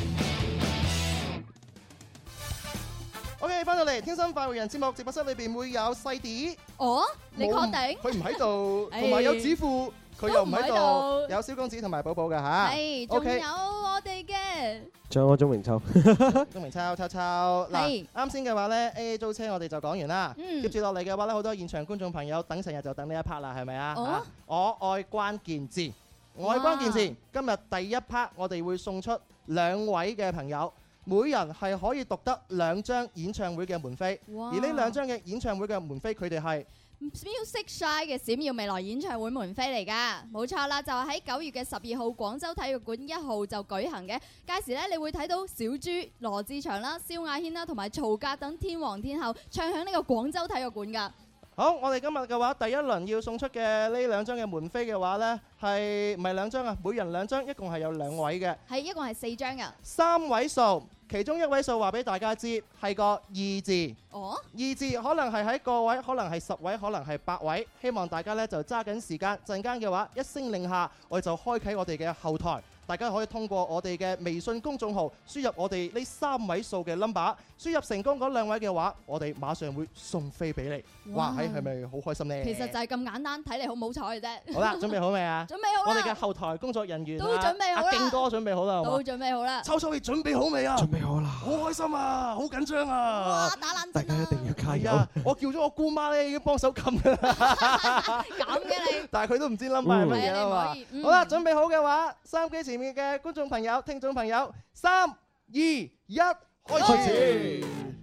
OK， 翻到嚟天生快活人節目直播室裏邊會有細啲。 哦，你確定？ 佢唔喺度，同埋有子富，佢又唔喺度，有蕭公子同埋寶寶㗎嚇。 係，仲有我哋嘅仲有我鐘明秋， 鐘明秋秋秋嗱， 係啱先嘅話咧 A A 租車我哋就講完啦， 嗯接住落嚟嘅話咧，好多現場觀眾朋友等成日就等呢一 part 啦，係咪啊？ 哦啊我愛關鍵字，我愛關鍵字，今日第一 part 我哋會送出兩位嘅朋友。每人係可以獨得兩張演唱會嘅門飛， 哇而呢兩張嘅演唱會嘅門飛，佢哋係 Music Shy 嘅閃耀未來演唱會門飛嚟㗎，冇錯啦，就係喺九月嘅十二號廣州體育館一號就舉行嘅。屆時咧，你會睇到小豬、羅志祥啦、蕭亞軒啦同埋曹格等天王天后唱響呢個廣州體育館㗎。 好，我哋今日嘅話，第一輪要送出嘅呢兩張嘅門飛嘅話呢，係唔係兩張啊？每人兩張，一共係有兩位嘅。 係一共係四張㗎。 三位數，其中一位數話俾大家知係個二字。 哦。 二字可能係喺個位，可能係十位，可能係百位。希望大家呢就揸緊時間，陣間嘅話一聲令下，我哋就開啟我哋嘅後台。大家可以通過我哋嘅微信公眾號輸入我哋呢三位數嘅 number， 輸入成功嗰兩位嘅話，我哋馬上會送飛俾你。哇！係係咪好開心呢？ 其實就係咁簡單，睇嚟好唔好彩嘅啫。 好啦，準備好未啊？ 準備好啦。 我哋嘅後台工作人員都準備好啦。 阿勁哥準備好啦。 都準備好啦。 秋秋，你準備好未啊？ 準備好啦。 好開心啊！好緊張啊！ 哇！打冷大家一定要加油。 啊！我叫咗我姑媽咧，已經幫手撳㗎啦。 咁嘅你。 但係佢都唔知 number 係乜嘢啊嘛。好啦，準備好嘅話，收音機前面嘅觀眾朋友、聽眾朋友，三、二、一，開始。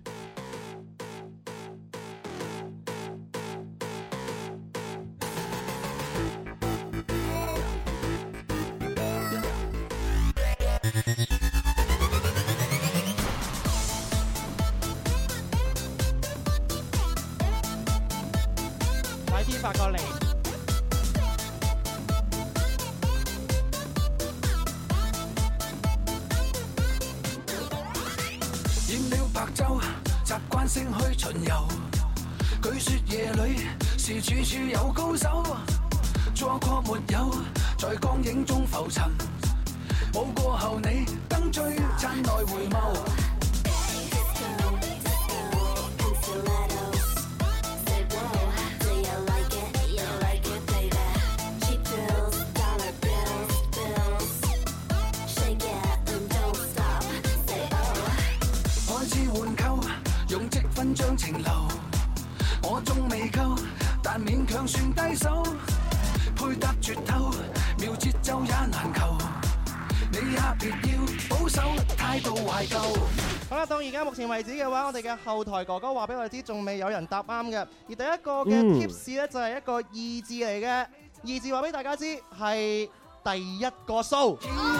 快啲發過嚟！ 染了白晝，習慣性去巡遊。據說夜裏是處處有高手，錯過沒有，在光影中浮沉。舞過後你燈璀璨來回眸。用積分將情留，我仲未夠，但勉強算低手，配搭絕透，妙節奏也難求，你也別要保守，態度懷舊。 好啦，到而家目前為止嘅話，我哋嘅後台哥哥話俾我哋知，仲未有人答啱嘅。而第一個嘅 tips 咧就係一個二字嚟嘅，二字話俾大家知係第一個數。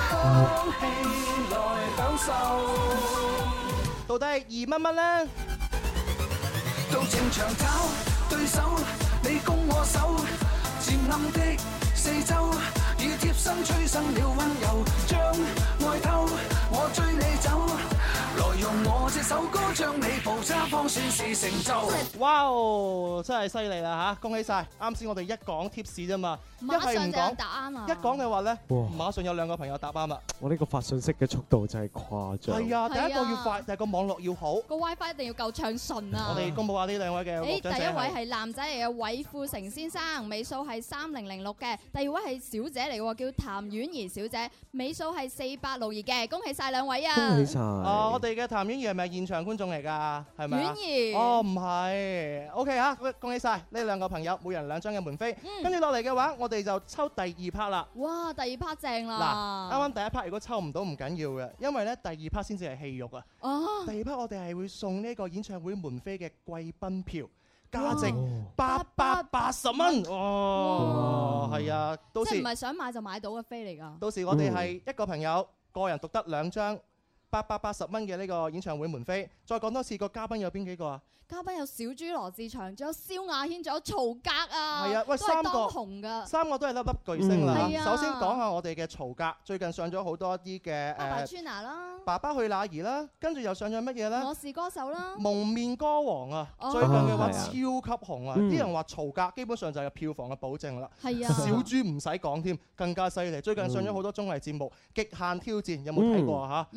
到底係二乜乜咧？ 到情場找對手，你攻我守，漸暗的四周，已貼身催生了溫柔，將愛偷，我追你走，來用我這首歌將你捕揸，方算是成就。 哇哦，真係犀利啦嚇！恭喜晒！啱先我哋一講 tips 啫嘛，一係唔講， 答啱啊！ 一講嘅話咧， 哇馬上有兩個朋友答啱啦。 我呢個發信息嘅速度真係誇張。 係啊，第一個要快，第二個網絡要好， 個 WiFi 一定要夠暢順啊！ 我哋公佈下呢兩位嘅誒，第獎者一位係男仔嚟嘅韋富成先生，尾數係三零零六嘅；第二位係小姐嚟嘅，叫譚婉儀小姐，尾數係四八六二嘅。恭喜晒兩位啊！ 恭喜晒！ 啊，我哋嘅譚婉儀係咪現場觀眾嚟㗎？係咪啊？ 婉儀哦，唔係。OK 啊，恭喜晒呢兩個朋友，每人兩張嘅門飛。跟住落嚟嘅話，我哋就抽第二 part 啦。 哇，第二 part 正啦！ 嗱，啱啱第一 part 如果抽唔到唔緊要嘅，因為咧第二 part 先至係戲肉啊。 哦。 第二 part 我哋係會送呢個演唱會門飛嘅貴賓票，價值八百八十蚊。哦，係啊，到時即係唔係想買就買到嘅飛嚟㗎？ 到時我哋係一個朋友個人獨得兩張八百八十蚊嘅呢個演唱會門飛。再講多次，個嘉賓有邊幾個啊？ 嘉賓有小豬羅志祥，仲有蕭亞軒，仲有曹格啊！ 係啊，喂，三個紅㗎， 三個都係粒粒巨星啦。 嗯、 首先講下我哋嘅曹格，最近上咗好多啲嘅誒。 爸爸去哪啦？ 爸爸去哪兒啦？跟住又上咗乜嘢咧？ 我是歌手啦。 蒙面歌王啊， 哦、 最近嘅話超級紅啊！啲、 嗯、 人話曹格基本上就係票房嘅保證啦。 係啊， 小豬唔使講添，更加犀利。最近上咗好多綜藝節目，《極限挑戰》有冇睇過啊？嚇、嗯， 有啊，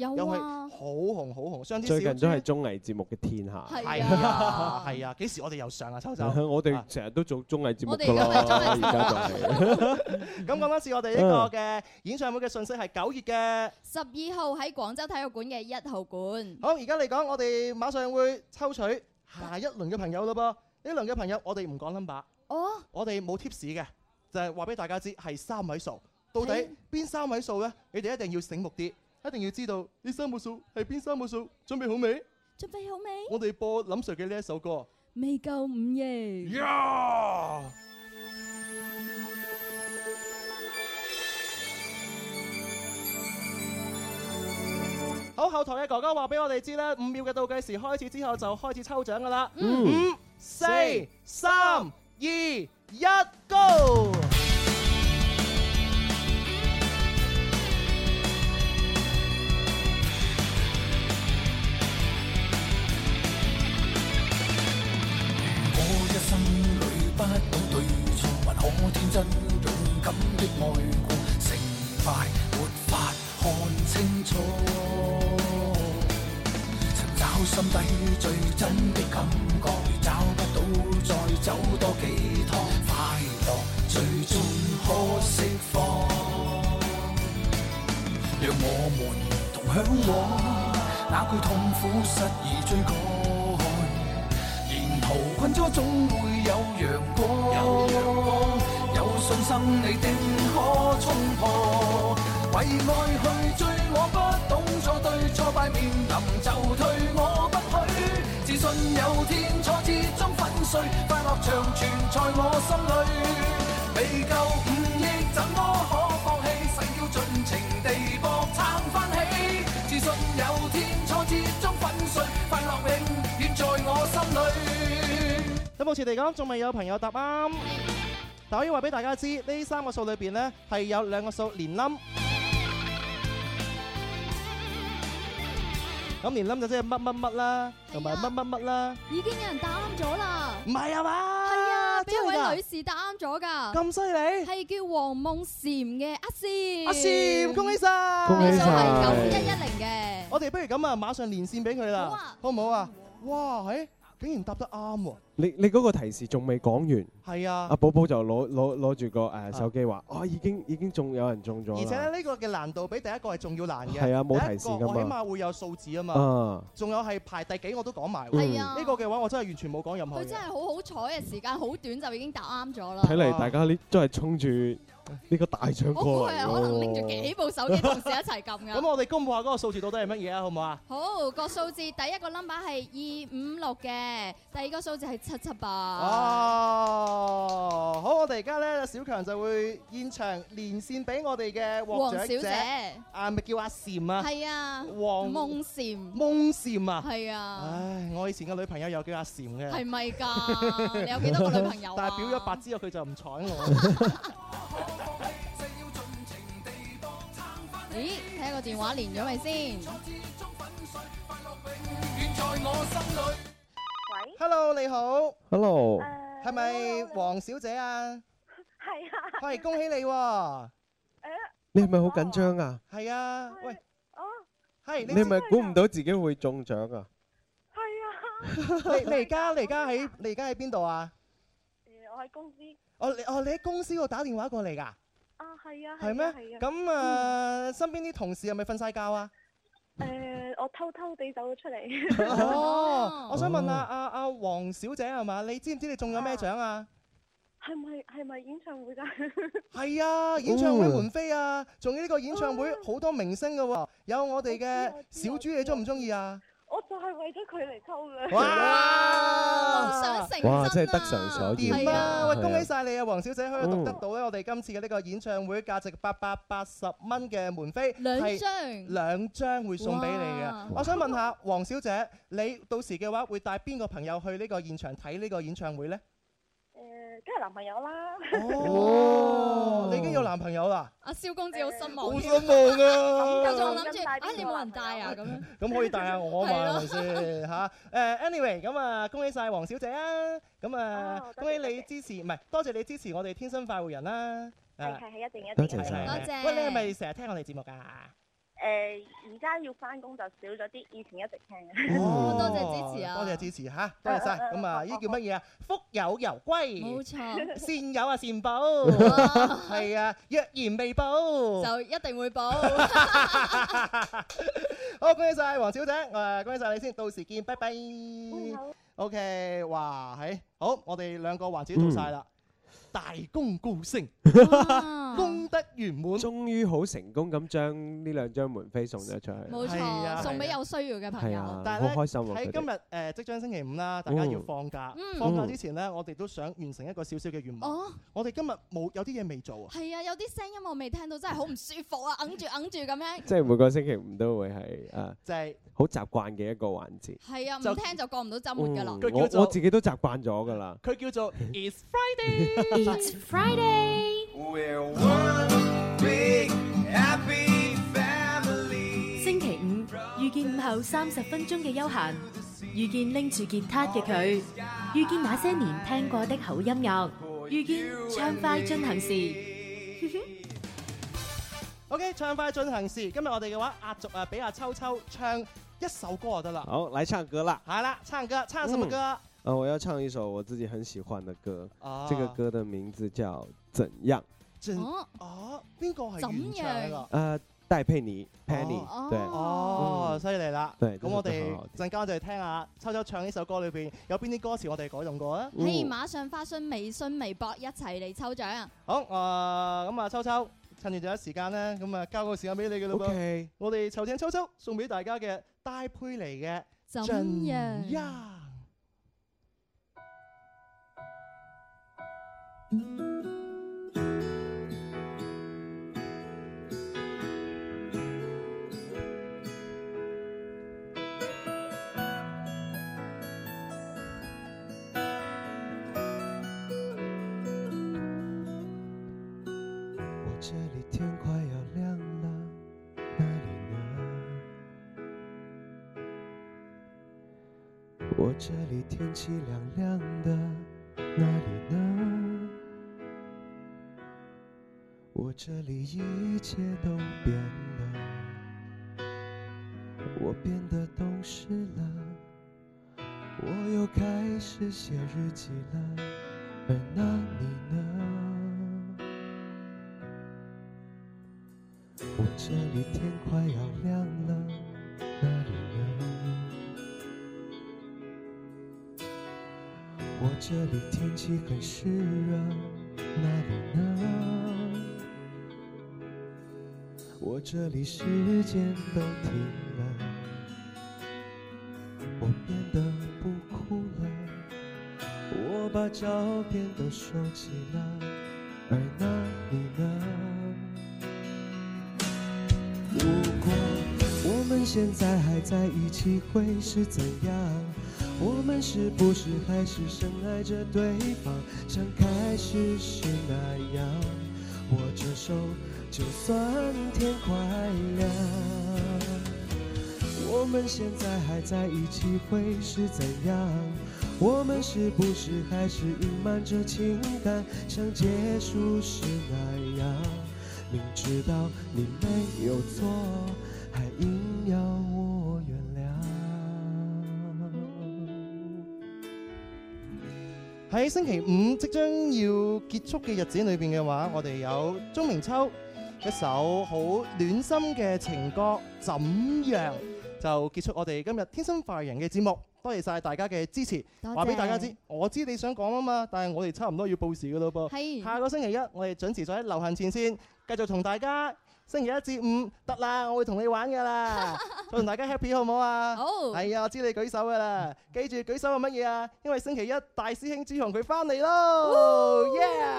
好紅好紅。上次最近都係綜藝節目嘅天下。 係啊係啊，幾時我哋又上啊？秋秋， 我哋成日都做綜藝節目㗎啦，而家就係。 咁講多次，我哋呢個嘅演唱會嘅信息係九月嘅十二號喺廣州體育館嘅一號館。 好，而家嚟講，我哋馬上會抽取下一輪嘅朋友咯噃。呢輪嘅朋友，我哋唔講 number， 哦， 我哋冇 tips 嘅，就係話俾大家知係三位數。到底邊三位數呢？你哋一定要醒目啲，一定要知道呢三個數係邊三個數。準備好未？ 準備好未？ 我哋播林 Sir 嘅呢一首歌。 未夠午夜。 呀！好，後台嘅哥哥話俾我哋知咧，五秒嘅倒計時開始之後就開始抽獎噶啦。五、四、三、二、一，Go！ 我一生裏不到對錯，還可天真勇敢的愛過，成敗沒法看清楚。尋找心底最真的感覺，找不到再走多幾趟，快樂最終可釋放。讓我們同向往，哪懼痛苦失意追趕。沿途困咗總會有陽光，有信心你定可衝破。為愛去追，我不懂錯對，挫敗面臨就退，我不許。自信有天挫折中粉碎，快樂長存在我心裏。未夠五億，怎麼可放棄？誓要盡情地搏撐翻起。自信有天挫折中粉碎，快樂永遠在我心裏。 咁目前嚟講，仲未有朋友答啱，但可以話俾大家知，呢三個數裏邊呢係有兩個數連冧。咁連冧就即係乜乜乜啦，同埋乜乜乜啦。 已經有人答啱咗啦。 唔係啊嘛？ 係啊，俾一真係㗎位女士答啱咗㗎。 咁犀利？ 係叫黃夢嬋嘅阿嬋。 阿嬋，恭喜晒！ 恭喜晒！ 係九一一零嘅。 我哋不如咁啊，馬上連線俾佢啦。好啊，好唔好啊？哇，誒，竟然答得啱喎！ 你你嗰個提示仲未講完， 係啊， 阿寶寶就攞攞攞住個誒手機話，哦已經已經中有人中咗啦。 而且咧呢個嘅難度比第一個係仲要難嘅。 係啊，冇提示㗎嘛。 我起碼會有數字啊嘛。 啊。 仲有係排第幾我都講埋。 係啊。 呢個嘅話我真係完全冇講任何嘢。 佢真係好好彩嘅時間好短就已經答啱咗啦。 睇嚟大家呢都係衝住呢個大獎過嚟。 我估係可能拎住幾部手機同時一齊撳㗎。 咁我哋公佈下嗰個數字到底係乜嘢啊？好唔好啊？ 好，個數字第一個 number 係二五六嘅，第二個數字係七七八。 哦，好，我哋而家咧，小強就會現場連線俾我哋嘅獲獎者，啊，咪叫阿嬋啊， 係啊， 黃夢嬋， 夢嬋啊， 係啊， 唉，我以前嘅女朋友又叫阿嬋嘅， 係咪㗎？你有幾多個女朋友啊？ 但係表咗白之後，佢就唔睬我。 咦，睇下個電話連咗未先？ 喂 ，Hello， 你好 ，Hello， 係咪黃小姐啊？ 係啊， 係，恭喜你喎！ 你係咪好緊張啊？ 係啊，喂， 哦， 係， 你係咪估唔到自己會中獎啊？ 係啊， 你你而家你而家喺你而家喺邊度啊？ 誒，我喺公司。 哦，你哦你喺公司度打電話過嚟㗎？ 啊，係啊， 係咩？ 係啊。 咁啊，身邊啲同事係咪瞓晒覺啊？ 誒，我偷偷地走咗出嚟。 哦，我想問下阿阿黃小姐係嘛？你知唔知你中咗咩獎啊？ 係咪係咪演唱會㗎？ 係啊，演唱會門飛啊！仲有呢個演唱會好多明星㗎喎，有我哋嘅小豬，你中唔中意啊？ 我就係為咗佢嚟抽嘅。 哇！ 夢想成真啊！ 哇，真係得償所願。 掂啊！喂，恭喜晒你啊，黃小姐可以讀得到咧，我哋今次嘅呢個演唱會價值八百八十蚊嘅門飛， 兩張， 兩張會送俾你嘅。我想問下黃小姐，你到時嘅話會帶邊個朋友去呢個現場睇呢個演唱會咧？ 誒，梗係男朋友啦。 哦，你已經有男朋友啦？ 阿蕭公子好失望， 好失望啊！ 佢仲諗住啊，你冇人帶啊咁樣。 咁可以帶下我嘛？係咪先嚇？誒，anyway，咁啊，恭喜晒黃小姐啊！咁啊，恭喜你支持，唔係多謝你支持我哋天生快活人啦。 係係係，一定一定。 多謝多謝。 喂，你係咪成日聽我哋節目㗎？ 誒而家要翻工就少咗啲，以前一直聽嘅。 哦， 多謝支持啊！ 多謝支持嚇，多謝晒。咁啊，呢叫乜嘢啊？福有攸歸， 冇錯， 善有啊善報，係啊，若然未報， 就一定會報。 好，恭喜晒黃小姐，誒，恭喜晒你先，到時見，拜拜。OK，哇，係好，我哋兩個環節做晒啦。大功告成，功德圓滿， 終於好成功咁將呢兩張門飛送咗出去。 冇錯，送俾有需要嘅朋友。 但係咧喺今日誒即將星期五啦，大家要放假。放假之前咧，我哋都想完成一個少少嘅願望。我哋今日冇有啲嘢未做啊。 係啊，有啲聲音我未聽到，真係好唔舒服啊！揞住揞住咁樣。 即係每個星期五都會係誒， 即係好習慣嘅一個環節。 係啊，唔聽就過唔到週末㗎啦。 我我自己都習慣咗㗎啦。 佢叫做 It's Friday。 It's Friday. We're one big happy family. 星期五遇見午後三十分鐘嘅悠閒，遇見拎住吉他嘅佢，遇見那些年聽過的好音樂，遇見暢快進行時。 OK， 暢快進行時。今日我哋嘅話壓軸啊，俾阿秋秋唱一首歌就得啦。 好，來唱歌啦。 係啦，唱歌，唱什麼歌？ 嗯呃，我要唱一首我自己很喜歡的歌，啊、這個歌的名字叫《怎樣》。 怎哦，邊個係原唱㗎？ 呃，戴佩妮 ，Penny，、哦、對。 哦，犀利啦！ 對， 咁我哋陣間我哋聽下秋秋唱呢首歌裏邊有邊啲歌詞我哋改動過啊？ 可以馬上發信微信、微博一齊嚟抽獎。 好，誒、呃，咁啊，秋秋趁住仲有時間咧，咁啊，交個時間俾你嘅啦噃。 Okay. 我哋籌請秋秋送俾大家嘅戴佩妮嘅《 怎樣》。 我這裡天快要亮了，哪裡呢？我這裡天氣涼涼的，哪裡呢？我這裡一切都變了，我變得懂事了，我又開始寫日記了，而那你呢？我這裡天快要亮了，哪裡呢？我這裡天氣很濕熱，哪裡呢？我這裡時間都停了，我變得不哭了，我把照片都收起了，而那你呢？如果我們現在還在一起會是怎樣？我們是不是還是深愛着對方，像開始時那樣？握着手就算天快亮。我們現在還在一起會是怎樣？我們是不是還是隱瞞着情感，像結束時那樣？明知道你沒有錯，還硬要我原諒。 喺星期五即將要結束嘅日子裏邊嘅話，我哋有鐘明秋一首好暖心嘅情歌《怎樣》，就結束我哋今日天生快活人嘅節目。多謝晒大家嘅支持，話俾大家知，我知你想講啊嘛，但係我哋差唔多要報時噶咯噃。下個星期一我哋準時在流行前線，繼續同大家星期一至五得啦，我會同你玩噶啦，再同大家 happy 好唔好啊？好。係啊，我知你舉手噶啦，記住舉手係乜嘢啊？因為星期一大師兄朱紅佢翻嚟咯。Yeah！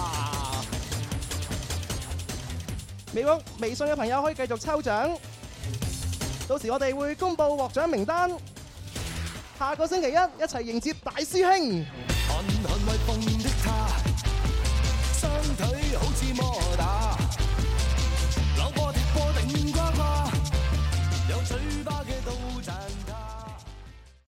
微博、微信嘅朋友可以繼續抽獎，到時我哋會公佈獲獎名單。下個星期一一齊迎接大師兄。 寒寒為鳳的他